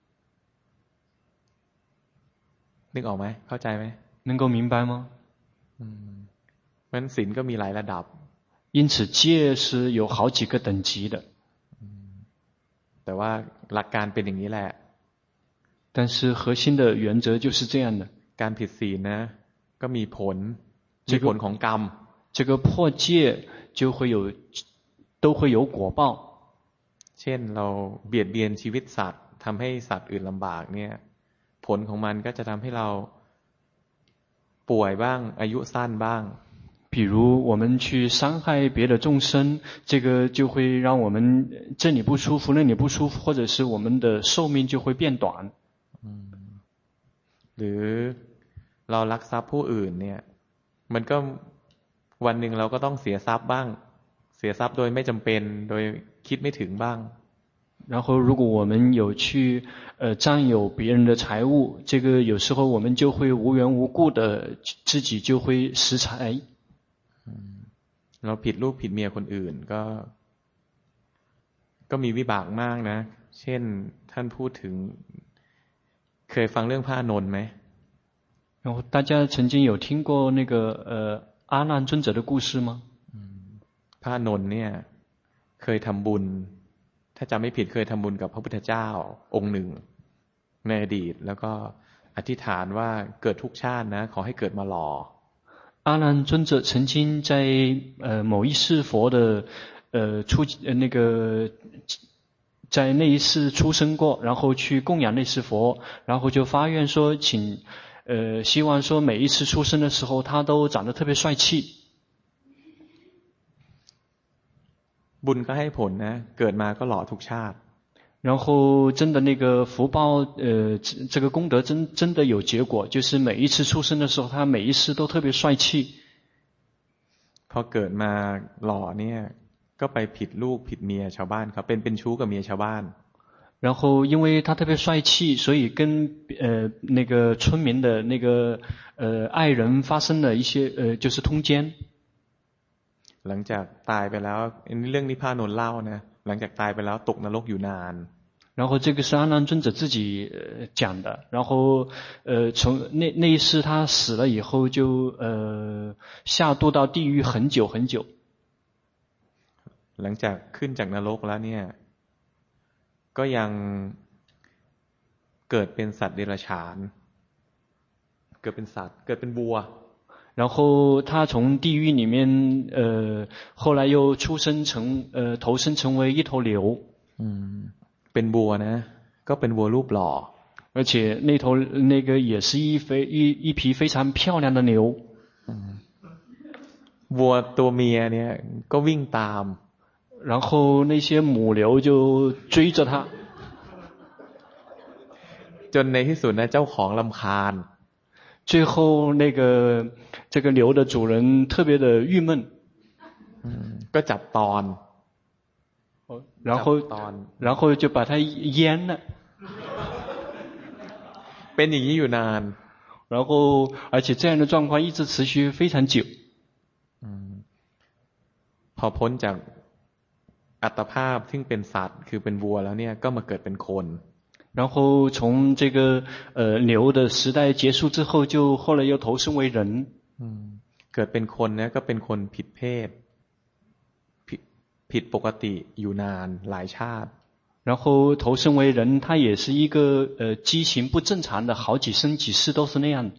นึกออกไหมเข้าใจไหม能夠明白嗎？ อืมเพราะฉะนั้นศีลก็มีหลายระดับ因此戒是有好幾個等級的แต่ว่าหลักการเป็นอย่างนี้แหละ但是核心的原則就是這樣的การผิดศีลนะก็มีผลมีผลของกรรม這個破戒就會有都會有果報เช่นเราเบียดเบียนชีวิตสัตว์ทำให้สัตว์อื่นลำบากเนี่ยผลของมันก็จะทำให้เราป่วยบ้างอายุสั้นบ้าง比如我們去傷害別的眾生，這個就會讓我們這裡不舒服，那裡不舒服，或者是我們的壽命就會變短。 หรือเราลักทรัพย์ผู้อื่นเนี่ยมันก็วันหนึ่งเราก็ต้องเสียทรัพย์บ้างเสียทรัพย์โดยไม่จำเป็นโดยคิดไม่ถึงบ้าง然後如果我們有去呃佔有別人的財物，這個有時候我們就會無緣無故的自己就會失財。 เราผิดลูกผิดเมียคนอื่นก็ก็มีวิบากมากนะเช่นท่านพูดถึงเคยฟังเรื่องพระอานนท์ไหม然後大家曾經有聽過那個呃阿難尊者的故事嗎？ พระอานนท์เนี่ยเคยทำบุญถ้าจำไม่ผิดเคยทำบุญกับพระพุทธเจ้าองค์หนึ่งในอดีตแล้วก็อธิษฐานว่าเกิดทุกชาตินะขอให้เกิดมาหล่อ阿難尊者曾經在呃某一世佛的呃出呃那個在那一世出生過，然後去供養那世佛，然後就發願說，請呃希望說每一次出生的時候，他都長得特別帥氣。 บุญก็ให้ผลนะเกิดมาก็หล่อทุกชาติ然後真的那個福報呃這個功德真真的有結果，就是每一次出生的時候，他每一世都特別帥氣。 พอเกิดมาหล่อเนี่ยก็ไปผิดลูกผิดเมียชาวบ้านเขาเป็นเป็นชู้กับเมียชาวบ้าน然後因為他特別帥氣，所以跟呃那個村民的那個呃愛人發生了一些呃就是通姦。 หลังจากตายไปแล้วเรื่องนี้พระอานนท์เล่านะหลังจากตายไปแล้วตกนรกอยู่นาน然後這個是阿難尊者自己呃講的，然後呃從那那一世他死了以後就呃下墮到地獄很久很久。 หลังจากขึ้นจากนรกแล้วเนี่ยก็ยังเกิดเป็นสัตว์เดรัจฉานเกิดเป็นสัตว์เกิดเป็นวัว然後他從地獄裡面呃後來又出生成呃投生成為一頭牛嗯เป็นวัวนะก็เป็นวัวรูปหล่อ而且那頭那個也是一非一一匹非常漂亮的牛วัวตัวเมียเนี่ยก็วิ่งตาม然後那些母牛就追着他จนในที่สุดนะเจ้าของรำคาญ最後那個這個牛的主人特別的鬱悶ก็จับตอน然後然後就把它閹了เป็นอย่างนี้อยู่นาน然後而且這樣的狀況一直持續非常久พอพ้นจากอัตภาพซึ่งเป็นสัตว์คือเป็นวัวแล้วเนี่ยก็มาเกิดเป็นคน然後從這個呃牛的時代結束之後，就後來又投生為人。 เกิดเป็นคนเนี่ยก็เป็นคนผิดเพศผิดผิดปกติอยู่นานหลายชาติ然後投生為人，他也是一個呃畸形不正常的，好幾生幾世都是那樣。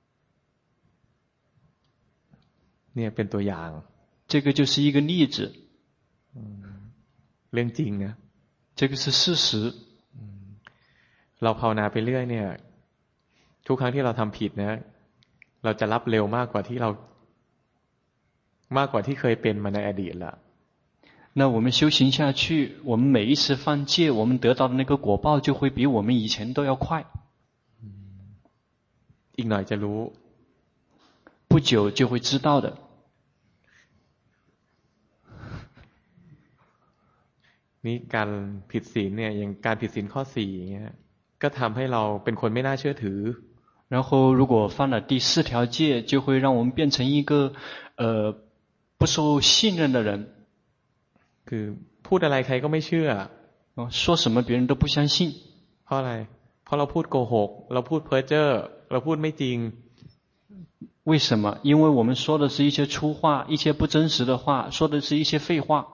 เนี่ยเป็นตัวอย่าง這個就是一個例子。 เรื่องจริงนะ這個是事實。 เราภาวนาไปเรื่อยเนี่ยทุกครั้งที่เราทำผิดนะเราจะรับเร็วมากกว่าที่เรามากกว่าที่เคยเป็นมาในอดีตละ那我们修行下去，我们每一次犯戒，我们得到的那个果報就會比我們以前都要快。 อีกหน่อยจะรู้不久就會知道的。 นี่การผิดศีลเนี่ยอย่างการผิดศีลข้อสี่อย่างเงี้ยก็ทำให้เราเป็นคนไม่น่าเชื่อถือ然後如果犯了第四條戒，就會讓我們變成一個呃不受信任的人。 คือพูดอะไรใครก็ไม่เชื่อ說什麼別人都不相信。 เพราะอะไรเพราะเราพูดโกหกเราพูดเพ้อเจ้อเราพูดไม่จริง為什麼？因為我們說的是一些粗話，一些不真實的話，說的是一些廢話。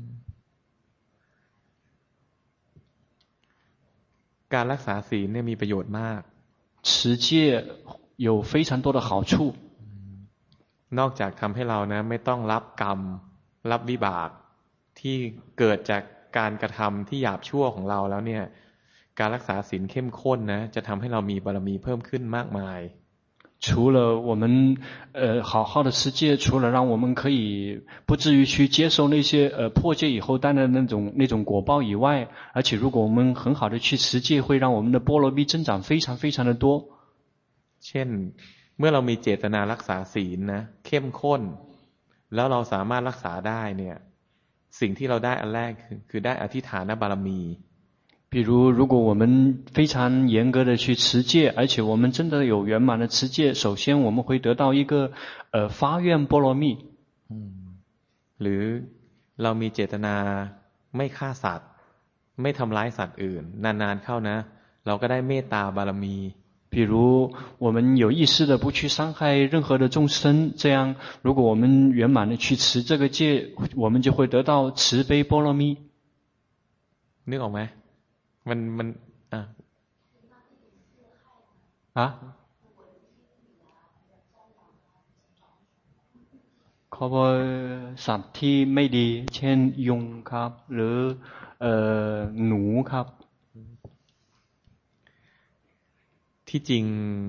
การรักษาศีลเนี่ยมีประโยชน์มาก持戒有非常多的好處นอกจากทำให้เรานะไม่ต้องรับกรรมรับวิบากที่เกิดจากการกระทำที่หยาบชั่วของเราแล้วเนี่ยการรักษาศีลเข้มข้นนะจะทำให้เรามีบารมีเพิ่มขึ้นมากมาย除了我們呃好好的持戒，除了讓我們可以不至於去接受那些呃破戒以後帶來的那種那種果報以外，而且如果我們很好的去持戒，會讓我們的波羅蜜增長非常非常的多。 เช่นเมื่อเรามีเจตนารักษาศีลนะเข้มข้นแล้วเราสามารถรักษาได้เนี่ยสิ่งที่เราได้อันแรกคือคือได้อธิฐานบารมี比如如果我們非常嚴格的去持戒，而且我們真的有圓滿的持戒，首先我們會得到一個呃發願波羅蜜。 หรือเรามีเจตนาไม่ฆ่าสัตว์ไม่ทำร้ายสัตว์อื่นนานๆเข้านะเราก็ได้เมตตาบารมี比如我們有意識的不去傷害任何的眾生，這樣如果我們圓滿的去持這個戒，我們就會得到慈悲波羅蜜。 นึกออกไหมมันมันอ่ะอ่ะเขาบอกสัตว์ที่ไม่ดีเช่นยุงครับหรือเอ่อหนูครับที่จริง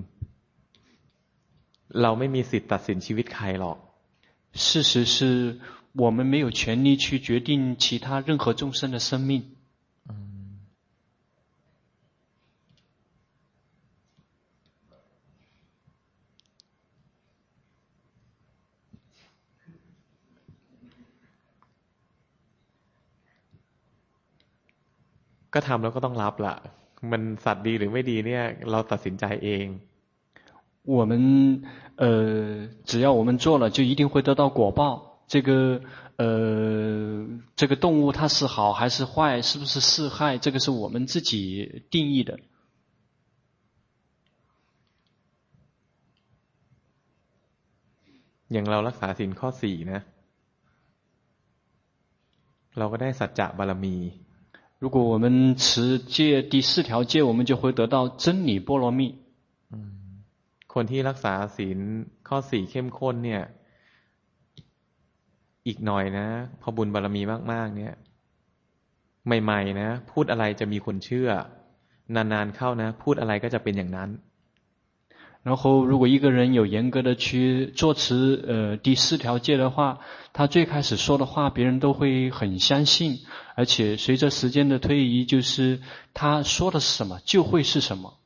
เราไม่มีสิทธิ์ตัดสินชีวิตใครหรอก事實是我們沒有權利去決定其他任何眾生的生命ก็ทำแล้วก็ต้องรับล่ะมันสัตว์ดีหรือไม่ดีเนี่ยเราตัดสินใจเอง我們呃只要我們做了就一定會得到果報這個呃這個動物它是好還是壞是不是是害這個是我們自己定義的อย่างเรารักษาศีลข้อสี่นะเราก็ได้สัจจะบารมี如果我們持戒第四條戒，我們就會得到真理波羅蜜。 คนที่รักษาศีลข้อสี่เข้มข้นเนี่ยอีกหน่อยนะพอบุญบารมีมากๆเนี่ยใหม่ๆนะพูดอะไรจะมีคนเชื่อนานๆเข้านะพูดอะไรก็จะเป็นอย่างนั้น然後如果一個人有嚴格的去做持呃第四條戒的話，他最開始說的話別人都會很相信，而且隨着時間的推移，就是他說的是什麼就會是什麼。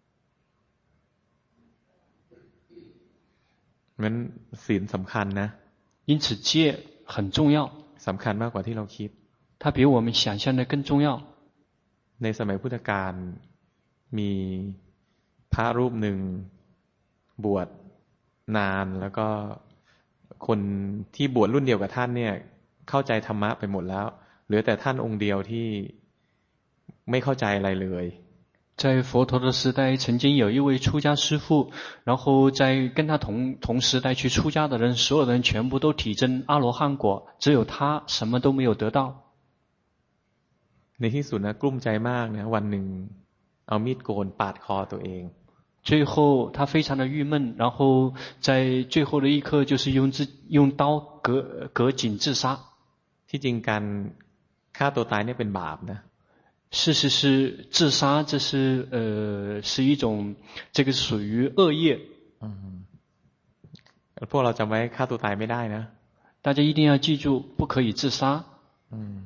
งั้นศีลสำคัญนะ因此戒很重要สำคัญมากกว่าที่เราคิด它比我們想象的更重要ในสมัยพุทธกาลมีพระรูปหนึ่งบวชนานแล้วก็คนที่บวชรุ่นเดียวกับท่านเนี่ยเข้าใจธรรมะไปหมดแล้วเหลือแต่ท่านองค์เดียวที่ไม่เข้าใจอะไรเลย在佛陀的時代曾經有一位出家師父然後在跟他同同時代去出家的人所有人全部都體證阿羅漢果只有他什麼都沒有得到ในที่สุดนะกลุ้มใจมากนะวันหนึ่งเอามีดโกนปาดคอตัวเอง最後他非常的鬱悶然後在最後的一刻就是用自用刀割割頸自殺ที่จริงการฆ่าตัวตายเนี่ยเป็นบาปนะ事實是自殺，這是呃是一種，這個屬於惡業。 嗯，พวกเราจำไว้ฆ่าตัวตายไม่ได้นะ大家一定要記住，不可以自殺。 อืม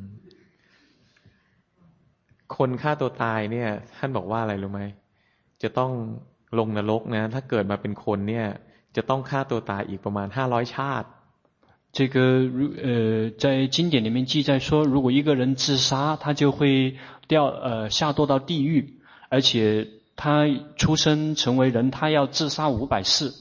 คนฆ่าตัวตายเนี่ยท่านบอกว่าอะไรรู้ไหมจะต้องลงนรกนะถ้าเกิดมาเป็นคนเนี่ยจะต้องฆ่าตัวตายอีกประมาณห้าร้อยชาติ這個呃，在經典裡面記載說，如果一個人自殺，他就會掉呃下墮到地獄，而且他出生成為人，他要自殺五百次。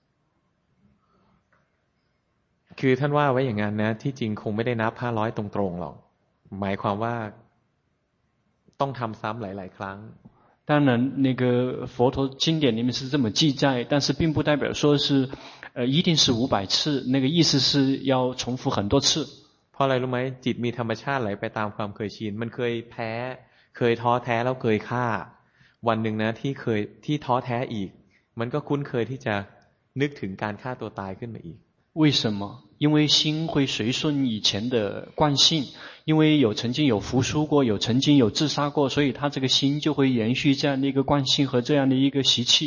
คือท่านว่าไว้อย่างนั้นนะที่จริงคงไม่ได้นับห้าร้อยตรงๆหรอกหมายความว่าต้องทำซ้ำหลายๆครั้ง當然，那個佛陀經典裡面是這麼記載，但是並不代表說是，呃，一定是五百次。那個意思是要重複很多次。 เพราะอะไรรู้ไหมจิตมีธรรมชาติไหลไปตามความเคยชินมันเคยแพ้เคยท้อแท้แล้วเคยฆ่าวันหนึ่งนะที่เคยที่ท้อแท้อีกมันก็คุ้นเคยที่จะนึกถึงการฆ่าตัวตายขึ้นมาอีก為什麼？因為心會隨順以前的慣性，因為有曾經有服輸過，有曾經有自殺過，所以他這個心就會延續這樣的一個慣性和這樣的一個習氣。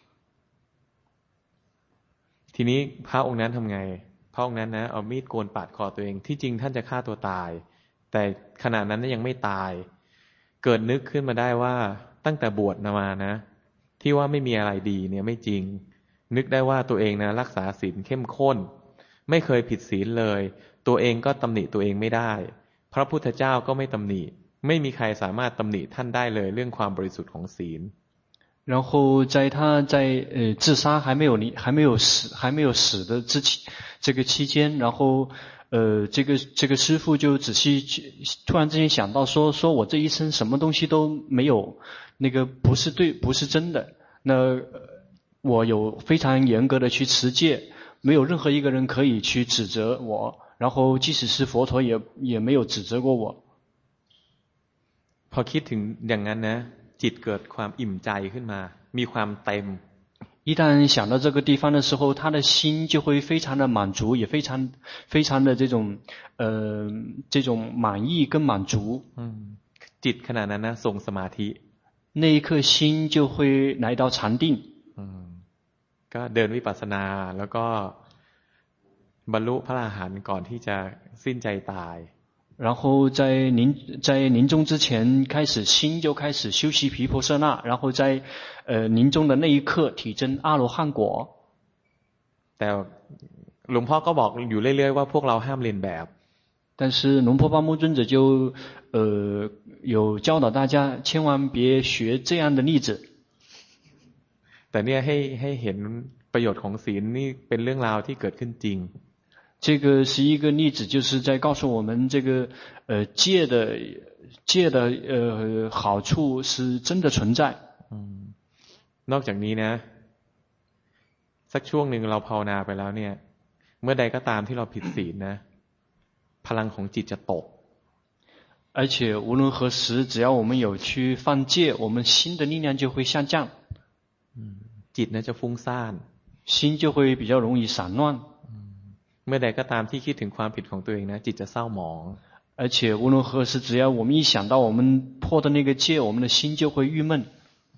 ทีนี้พระองค์นั้นทำไงพระองค์นั้นนะเอามีดโกนปาดคอตัวเองที่จริงท่านจะฆ่าตัวตายแต่ขณะนั้นยังไม่ตายเกิดนึกขึ้นมาได้ว่าตั้งแต่บวชมานะที่ว่าไม่มีอะไรดีเนี่ยไม่จริงนึกได้ว่าตัวเองนะรักษาศีลเข้มข้นไม่เคยผิดศีลเลยตัวเองก็ตำหนิตัวเองไม่ได้พระพุทธเจ้าก็ไม่ตำหนิไม่มีใครสามารถตำหนิท่านได้เลยเรื่องความบริสุทธิ์ของศีล然後在他在呃自殺還沒有離還沒有死還沒有死的之期這個期間，然後呃這個這個師父就仔細突然之間想到說說我這一生什麼東西都沒有，那個不是對不是真的，那我有非常嚴格的去持戒，沒有任何一個人可以去指責我，然後即使是佛陀也也沒有指責過我。 พอคิดถึงอย่างนั้นนะจิตเกิดความอิ่มใจขึ้นมามีความเต็ม一旦想到這個地方的時候，他的心就會非常的滿足，也非常非常的這種呃這種滿意跟滿足。 嗯，จิตขณะนั้นนะทรงสมาธิ那一刻心就會來到禪定。 嗯，ก็เดินวิปัสสนาแล้วก็บรรลุพระอรหันต์ก่อนที่จะสิ้นใจตาย然後在臨在臨終之前開始心就開始修習毗婆舍那，然後在呃臨終的那一刻體證阿羅漢果。 แต่หลวงพ่อก็บอกอยู่เรื่อยๆว่าพวกเราห้ามเลียนแบบ但是龍婆巴木尊者就呃有教導大家千萬別學這樣的例子。 แต่เนี่ยให้ให้เห็นประโยชน์ของศีลนี่เป็นเรื่องราวที่เกิดขึ้นจริง這個是一個例子，就是在告訴我們這個呃戒的戒的呃好處是真的存在。 嗯，นอกจากนี้นะสักช่วงหนึ่งเราภาวนาไปแล้วเนี่ยเมื่อใดก็ตามที่เราผิดศีลนะพลังของจิตจะตก而且無論何時，只要我們有去犯戒，我們心的力量就會下降。 嗯，จิต呢จะฟุ้งซ่าน心就會比較容易散亂。 เมื่อใดก็ตามที่คิดถึงความผิดของตัวเองนะจิตจะเศร้าหมอง而且無論何時，只要我們一想到我們破的那個戒，我們的心就會鬱悶。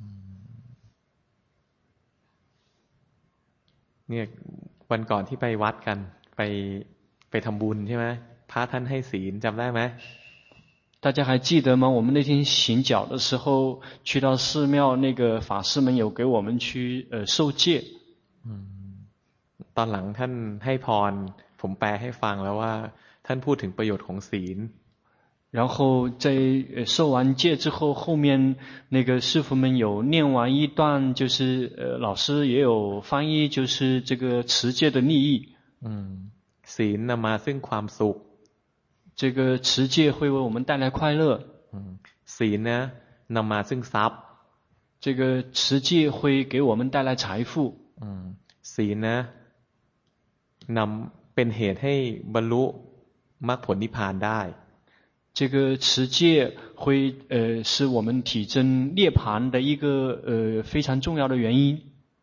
เนี่ยวันก่อนที่ไปวัดกันไปไปทำบุญใช่ไหมพระท่านให้ศีลจำได้ไหม大家還記得嗎？我們那天行腳的時候，去到寺廟，那個法師們有給我們去呃受戒。 嗯ตอนหลังท่านให้พรผมแปลให้ฟังแล้วว่าท่านพูดถึงประโยชน์ของศีล然後在受完戒之後，後面那個師父們有念完一段，就是呃老師也有翻譯，就是這個持戒的利益。 嗯，ศีลนำมาซึ่งความสุข這個持戒會為我們帶來快樂。 嗯，ศีลนะนำมาซึ่งทรัพย์這個持戒會給我們帶來財富。 嗯，ศีลนะนำเป็นเหตุให้บรรลุมรรคผลนิพพานได้這個持戒會呃是我們體證涅槃的一個呃非常重要的原因。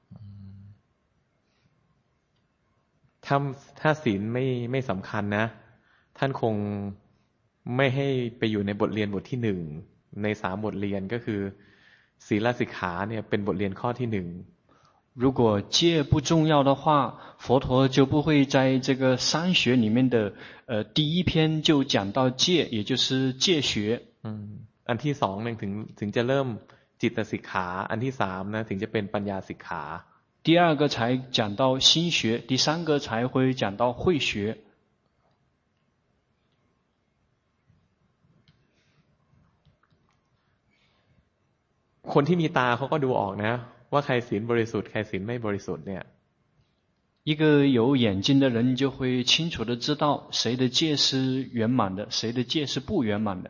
ถ้าถ้าศีลไม่ไม่สำคัญนะท่านคงไม่ให้ไปอยู่ในบทเรียนบทที่หนึ่งในสามบทเรียนก็คือศีลสิกขาเนี่ยเป็นบทเรียนข้อที่หนึ่ง如果戒不重要的话，佛陀就不会在這個三學裡面的呃第一篇就講到戒，也就是戒學。 嗯，อันที่สองเนี่ยถึงถึงจะเริ่มจิตสิกขาอันที่สามนะถึงจะเป็นปัญญาสิกขา第二個才講到心學，第三個才會講到慧學。 คนที่มีตาเขาก็ดูออกนะว่าใครศีลบริสุทธิ์ใครศีลไม่บริสุทธิ์เนี่ย一個有眼睛的人就會清楚地知道誰的戒是圓滿的，誰的戒是不圓滿的。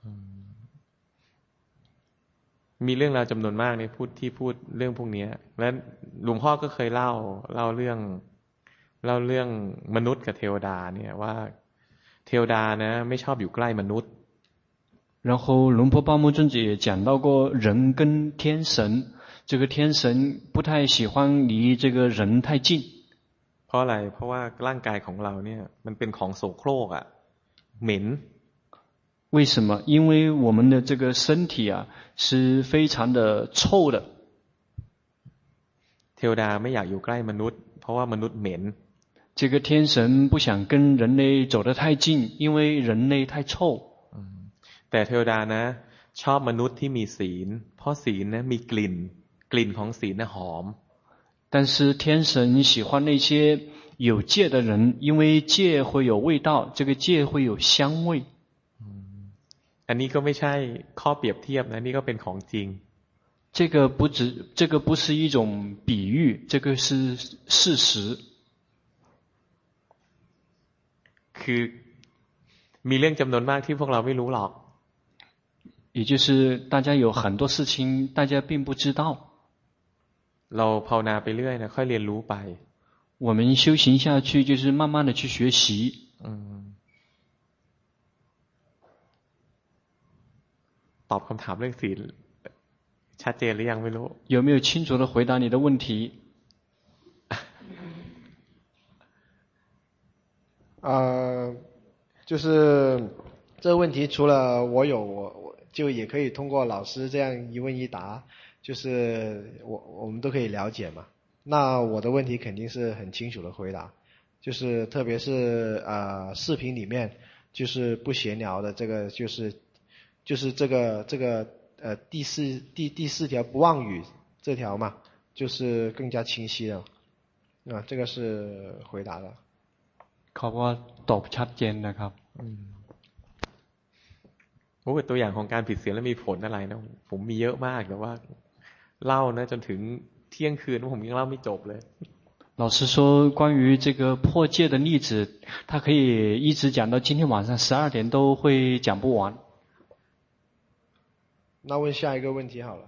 มีเรื่องราวจำนวนมากเนี่ยพูดที่พูดเรื่องพวกนี้และหลวงพ่อก็เคยเล่าเล่าเรื่องเล่าเรื่องมนุษย์กับเทวดาเนี่ยว่าเทวดานะไม่ชอบอยู่ใกล้มนุษย์然後龍婆巴木尊者也講到過人跟天神，這個天神不太喜歡離這個人太近。 เพราะอะไรเพราะว่าร่างกายของเราเนี่ยมันเป็นของโสโครกอ่ะเหม็น為什麼？因為我們的這個身體啊是非常的臭的。 เทวดาไม่อยากอยู่ใกล้มนุษย์เพราะว่ามนุษย์เหม็น這個天神不想跟人類走得太近，因為人類太臭。 แต่เทวดานะชอบมนุษย์ที่มีศีลเพราะศีลนะมีกลิ่นกลิ่นของศีลนะหอม但是天神喜歡那些有戒的人，因為戒會有味道，這個戒會有香味。 อันนี้ก็ไม่ใช่ข้อเปรียบเทียบนะนี่ก็เป็นของจริง這個不只這個不是一種比喻，這個是事實。 คือมีเรื่องจำนวนมากที่พวกเราไม่รู้หรอก也就是大家有很多事情大家並不知道。 เราภาวนาไปเรื่อยนะค่อยเรียนรู้ไป我們修行下去就是慢慢的去學習。 ตอบคำถามเรื่องศีลชัดเจนหรือยังไม่รู้有沒有清楚的回答你的問題？ 呃，就是這個問題，除了我有，我我就也可以通過老師這樣一問一答，就是我我們都可以了解嘛。那我的問題肯定是很清楚的回答，就是特別是呃視頻裡面就是不閒聊的這個就是就是這個這個呃第四第第四條不妄語這條嘛，就是更加清晰了啊，這個是回答了。 เขาว่าตอบชัดเจนนะครับโอ้ตัวอย่างของการผิดศีลแล้วมีผลอะไรนะผมมีเยอะมากแต่ว่าเล่านะจนถึงเที่ยงคืนผมยังเล่าไม่จบเลย老師說關於這個破戒的例子他可以一直講到今天晚上十二點都會講不完。 那問下一個問題好了。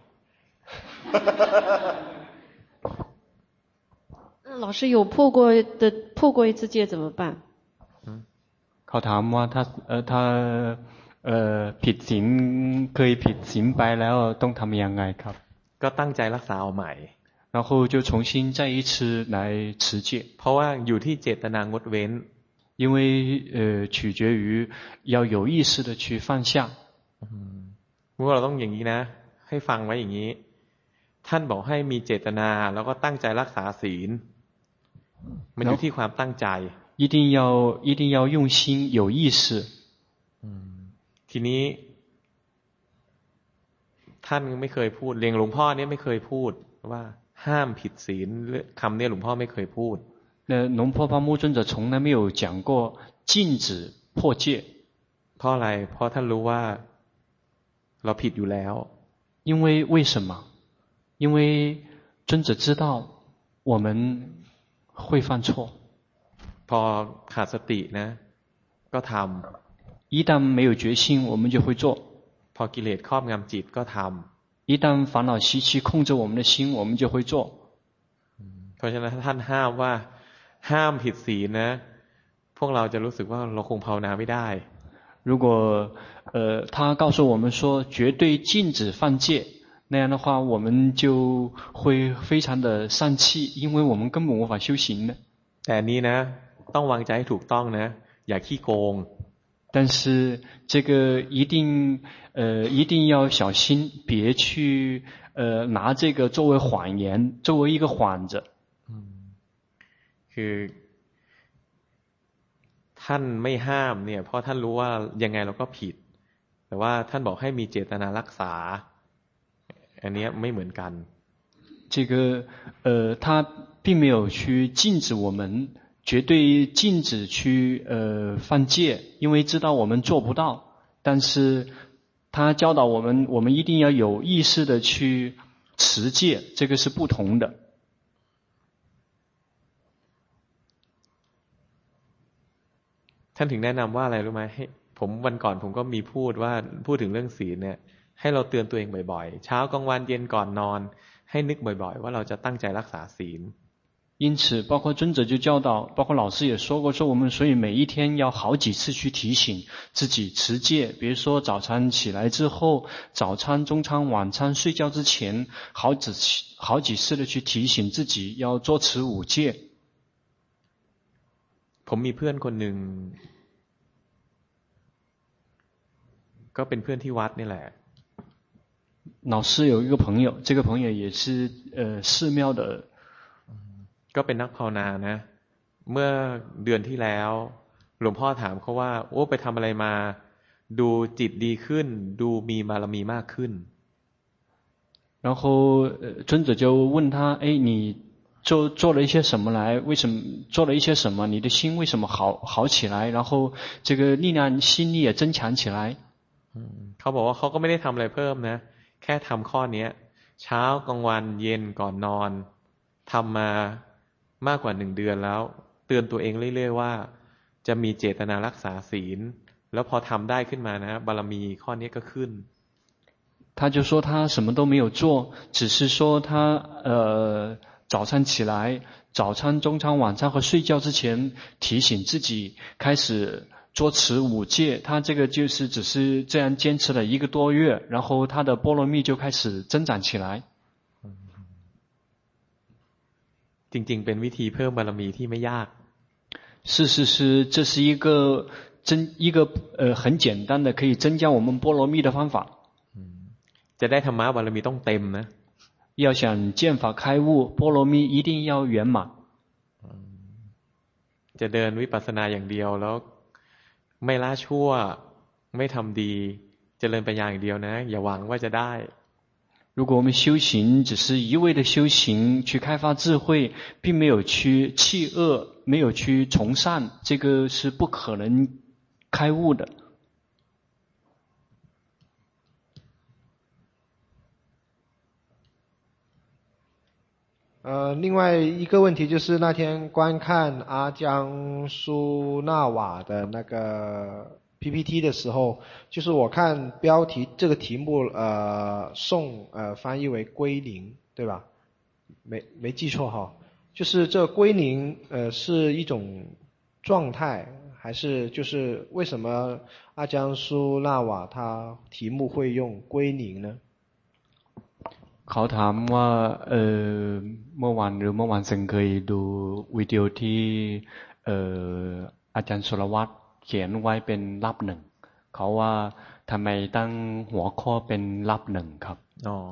老師有破過的破過一次戒怎麼辦？ เขาถามว่าถ้าเอ่อถ้าเอ่อผิดศีลเคยผิดศีลไปแล้วต้องทำยังไงครับก็ตั้งใจรักษาเอาใหม่然後就重新再一次來持戒เพราะว่าอยู่ที่เจตนางดเว้น因為呃取決於要有意識的去放下พวกเราต้องอย่างนี้นะให้ฟังไว้อย่างนี้ท่านบอกให้มีเจตนาแล้วก็ตั้งใจรักษาศีลมันอยู่ที่ความตั้งใจ一定要一定要用心有意識ทีนี้ท่านไม่เคยพูดเรียงหลวงพ่อเนี่ยไม่เคยพูดว่าห้ามผิดศีลคำนี้หลวงพ่อไม่เคยพูด那龍婆巴木尊者從來沒有講過禁止破戒เพราะอะไรเพราะท่านรู้ว่าเราผิดอยู่แล้ว因為為什麼因為尊者知道我們會犯錯พอขาดสตินะก็ทำ一旦沒有決心我們就會做พอกิเลสครอบงำจิตก็ทำ一旦煩惱習氣控制我們的心我們就會做เพราะฉะนั้นท่านห้ามว่าห้ามผิดศีลนะพวกเราจะรู้สึกว่าเราคงภาวนาไม่ได้如果呃他告訴我們說絕對禁止犯戒那樣的話我們就會非常的喪氣因為我們根本無法修行的แต่นี้นะต้องวางใจให้ถูกต้องนะอย่าขี้โกง但是这個一定呃一定要小心，別去呃拿這個作為謊言，作為一個幌子。 คือท่านไม่ห้ามเนี่ยเพราะท่านรู้ว่ายังไงเราก็ผิดแต่ว่าท่านบอกให้มีเจตนารักษาอันนี้ไม่เหมือนกัน這個呃他並沒有去禁止我們絕對禁止去呃犯戒，因為知道我們做不到，但是他教導我們我們一定要有意識的去持戒，這個是不同的。 ท่านถึงแนะนำว่าอะไรรู้ไหมให้ผมวันก่อนผมก็มีพูดว่าพูดถึงเรื่องศีลเนี่ยให้เราเตือนตัวเองบ่อยๆเช้ากลางวันเย็นก่อนนอนให้นึกบ่อยๆว่าเราจะตั้งใจรักษาศีล因此包括尊者就教導，包括老師也說過，說我們所以每一天要好幾次去提醒自己持戒，比如說早餐起來之後，早餐、中餐、晚餐，睡覺之前，好幾好幾次的去提醒自己要做持五戒。 ผมมีเพื่อนคนหนึ่งก็เป็นเพื่อนที่วัดนี่แหละ老師有一個朋友，這個朋友也是呃寺廟的ก็เป็นนักภาวนานะเมื่อเดือนที่แล้วหลวงพ่อถามเขาว่าโอ้ไปทำอะไรมาดูจิตดีขึ้นดูมีบารมีมากขึ้น然後尊者就問他哎你做做了一些什麼來為什麼做了一些什麼你的心為什麼好好起來然後這個力量心力也增強起來เขาบอกว่าเขาก็ไม่ได้ทำอะไรเพิ่มนะแค่ทำข้อนี้เช้ากลางวันเย็นก่อนนอนทำมามากกว่าหนึ่งเดือนแล้วเตือนตัวเองเรื่อยๆว่าจะมีเจตนารักษาศีลแล้วพอทำได้ขึ้นมานะบารมีข้อนี้ก็ขึ้น他就說他什麼都沒有做只是說他呃早上起來早餐中餐晚餐和睡覺之前提醒自己開始做持五戒他這個就是只是這樣堅持了一個多月然後他的波羅蜜就開始增長起來จริงๆเป็นวิธีเพิ่มบารมีที่ไม่ยาก是是是這是一個增一個呃很簡單的可以增加我們波羅蜜的方法จะได้ธรรมะบารมีต้องเต็มนะ要想見法開悟波羅蜜一定要圓滿จะเดินวิปัสสนาอย่างเดียวแล้วไม่ละชั่วไม่ทำดีเจริญปัญญาอย่างเดียวนะอย่าหวังว่าจะได้如果我們修行只是一味的修行去開發智慧並沒有去棄惡沒有去從善這個是不可能開悟的呃，另外一個問題就是那天觀看阿江蘇納瓦的那個 P P T 的時候，就是我看標題這個題目，呃，宋呃翻譯為歸零，對吧？沒沒記錯哈，就是這歸零呃是一種狀態，還是就是為什麼阿江蘇納瓦他題目會用歸零呢？ เขาถามว่าเอ่อเมื่อวานหรือเมื่อวานซึ่งเคยดูวิดีโอที่เอ่ออาจารย์สุรวัตรเขียนไว้เป็นลับหนึ่งเขาว่าทำไมตั้งหัวข้อเป็นลับหนึ่งครับอ๋อ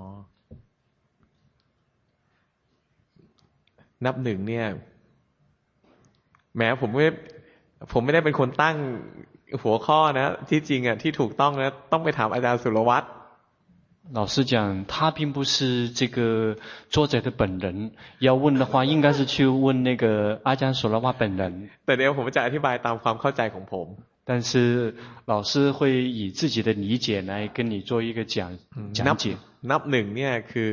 นับหนึ่งเนี่ยแม้ผมไม่ผมไม่ได้เป็นคนตั้งหัวข้อนะที่จริงอ่ะที่ถูกต้องนะต้องไปถามอาจารย์สุรวัตร老師講他並不是這個作者的本人要問的話應該是去問那個阿江索拉瓦本人แต่เดี๋ยวผมจะอธิบายตามความเข้าใจของผม但是老師會以自己的理解來跟你做一個講講解นับหนึ่งเนี่ยคือ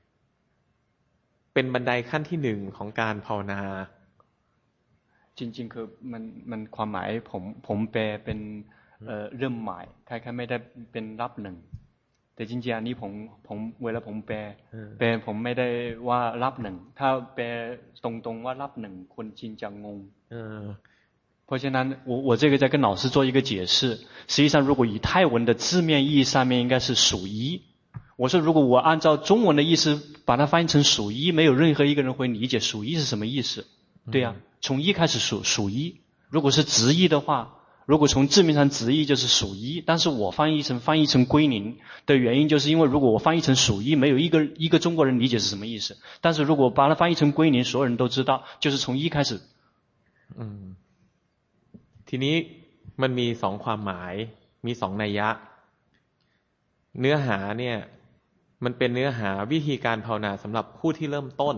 เป็นบันไดขั้นที่หนึ่งของการภาวนาจริงๆคือมันมันความหมายผมผมแปลเป็นเอ่อเริ่มใหม่คล้ายๆไม่ได้เป็นรับหนึ่งแต่จริงๆอันนี้ผมผมเวลาผมแปลแปลผมไม่ได้ว่ารับหนึ่งถ้าแปลตรงๆว่ารับหนึ่งคนจริงจะงงเพราะฉะนั้น我我這個在跟老師做一個解釋實際上如果以泰文的字面意義上面應該是屬一我說如果我按照中文的意思把它翻譯成屬一沒有任何一個人會理解屬一是什麼意思對啊從一開始數數一如果是直譯的話如果從字面上直譯就是屬一，但是我翻譯成翻譯成歸零的原因，就是因為如果我翻譯成屬一，沒有一個一個中國人理解是什麼意思。但是如果把它翻譯成歸零，所有人都知道，就是從一開始。 嗯，ทีนี้มันมีสองความหมายมีสองนัยยะเนื้อหาเนี่ยมันเป็นเนื้อหาวิธีการภาวนาสำหรับผู้ที่เริ่มต้น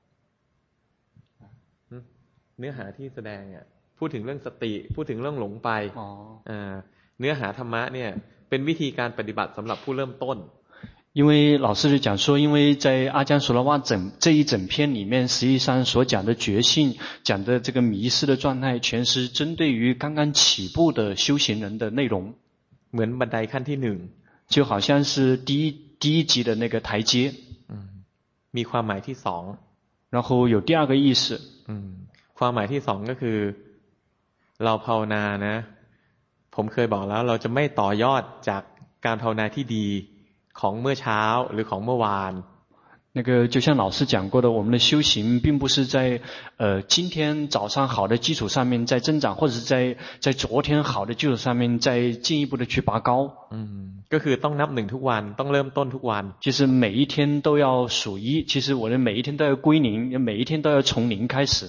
เนื้อหาที่แสดงอ่ะพูดถึงเรื่องสติพูดถึงเรื่องหลงไปอ่าเนื้อหาธรรมะเนี่ยเป็นวิธีการปฏิบัติสำหรับผู้เริ่มต้น因為老師就講說，因為在阿姜索羅瓦整這一整篇裡面，實際上所講的覺性，講的這個迷失的狀態，全是針對於剛剛起步的修行人的內容。 เหมือนบันไดขั้นที่หนึ่ง就好像是第一第一級的那個台階。 มีความหมายที่สอง然後有第二個意思。 ความหมายที่สองก็คือเราภาวนานะผมเคยบอกแล้วเราจะไม่ต่อยอดจากการภาวนาที่ดีของเมื่อเช้าหรือของเมื่อวาน那個就像老師講過的，我們的修行並不是在呃今天早上好的基礎上面在增長，或者是在在昨天好的基礎上面再進一步的去拔高。 嗯，ก็คือต้องนับหนึ่งทุกวันต้องเริ่มต้นทุกวัน就是每一天都要屬一，其實我的每一天都要歸零，每一天都要從零開始。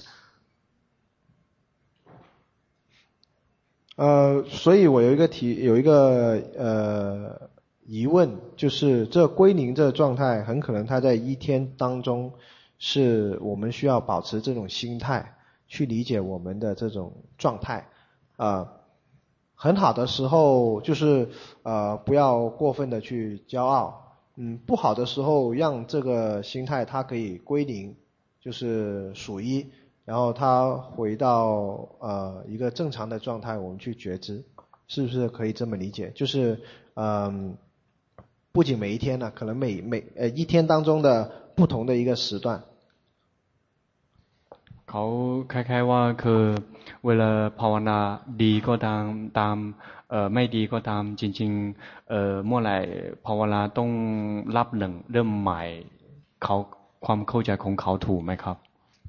呃，所以我有一個題，有一個呃。疑問就是這歸零這個狀態很可能它在一天當中是我們需要保持這種心態去理解我們的這種狀態呃，很好的時候就是呃不要過分的去驕傲嗯，不好的時候讓這個心態它可以歸零就是屬一然後它回到呃一個正常的狀態我們去覺知是不是可以這麼理解就是嗯不僅每一天呢，可能每每呃一天當中的不同的一個時段。 เขาคล้ายๆว่าคือเวลาภาวนาดีก็ตามตามเอ่อไม่ดีก็ตามจริงๆเอ่อเมื่อไหร่ภาวนาต้องรับหนึ่งเริ่มใหม่เขาความเข้าใจของเขาถูกไหมครับ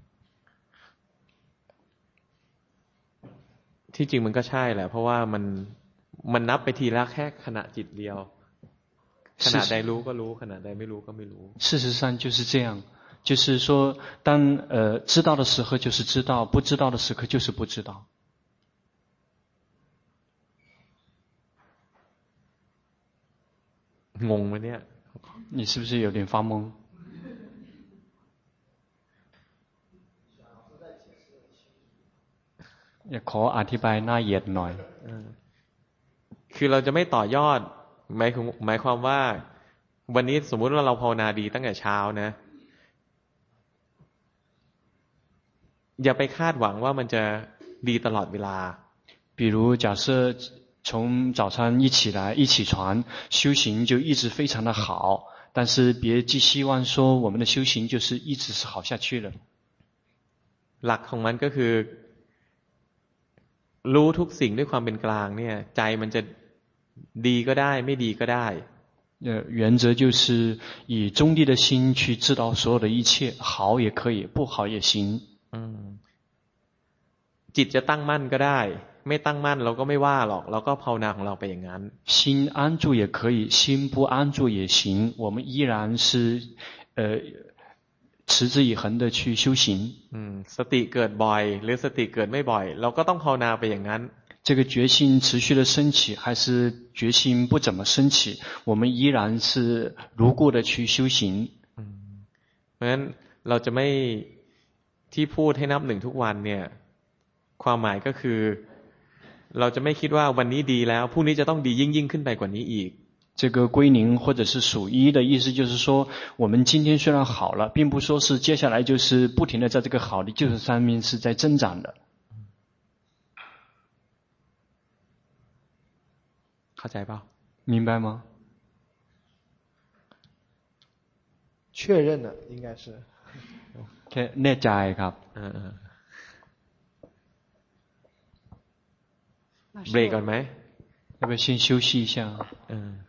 ที่จริงมันก็ใช่แหละเพราะว่ามันมันนับไปทีละแค่ขณะจิตเดียวขณะใดรู้ก็รู้ขณะใดไม่รู้ก็ไม่รู้事實上就是這樣就是說當呃知道的時候就是知道不知道的時刻就是不知道งงไหมเนี่ย你是不是有點發懵อยากขออธิบายหน้าเหยียดหน่อยคือเราจะไม่ต่อยอดหมายหมายความว่าวันนี้สมมุติว่าเราภาวนาดีตั้งแต่เช้านะอย่าไปคาดหวังว่ามันจะดีตลอดเวลา比如假設從早上一起來一起床修行就一直非常的好但是別寄希望說我們的修行就是一直是好下去了หลักของมันก็คือรู้ทุกสิ่งด้วยความเป็นกลางเนี่ยใจมันจะดีก็ได้ไม่ดีก็ได้呃原則就是以中立的心去知道所有的一切好也可以不好也行จิตจะตั้งมั่นก็ได้ไม่ตั้งมั่นเราก็ไม่ว่าหรอกเราก็ภาวนาของเราไปอย่างนั้น心安住也可以心不安住也行我們依然是呃持之以恆的去修行สติเกิดบ่อยหรือสติเกิดไม่บ่อยเราก็ต้องภาวนาไปอย่างนั้น這個覺性持續的升起還是覺性不怎麼升起我們依然是如故的去修行เพราะฉะนั้นเราจะไม่ที่พูดให้นับหนึ่งทุกวันเนี่ยความหมายก็คือเราจะไม่คิดว่าวันนี้ดีแล้วพรุ่งนี้จะต้องดียิ่งยิ่งขึ้นไปกว่านี้อีก這個歸零或者是屬一的意思就是說我們今天雖然好了並不說是接下來就是不停的在這個好的基礎上面是在增長的เข้าใจเปล่า明白嗎確認了應該是แค่แน่ใจครับเบรกก่อนไหม要不要先休息一下嗯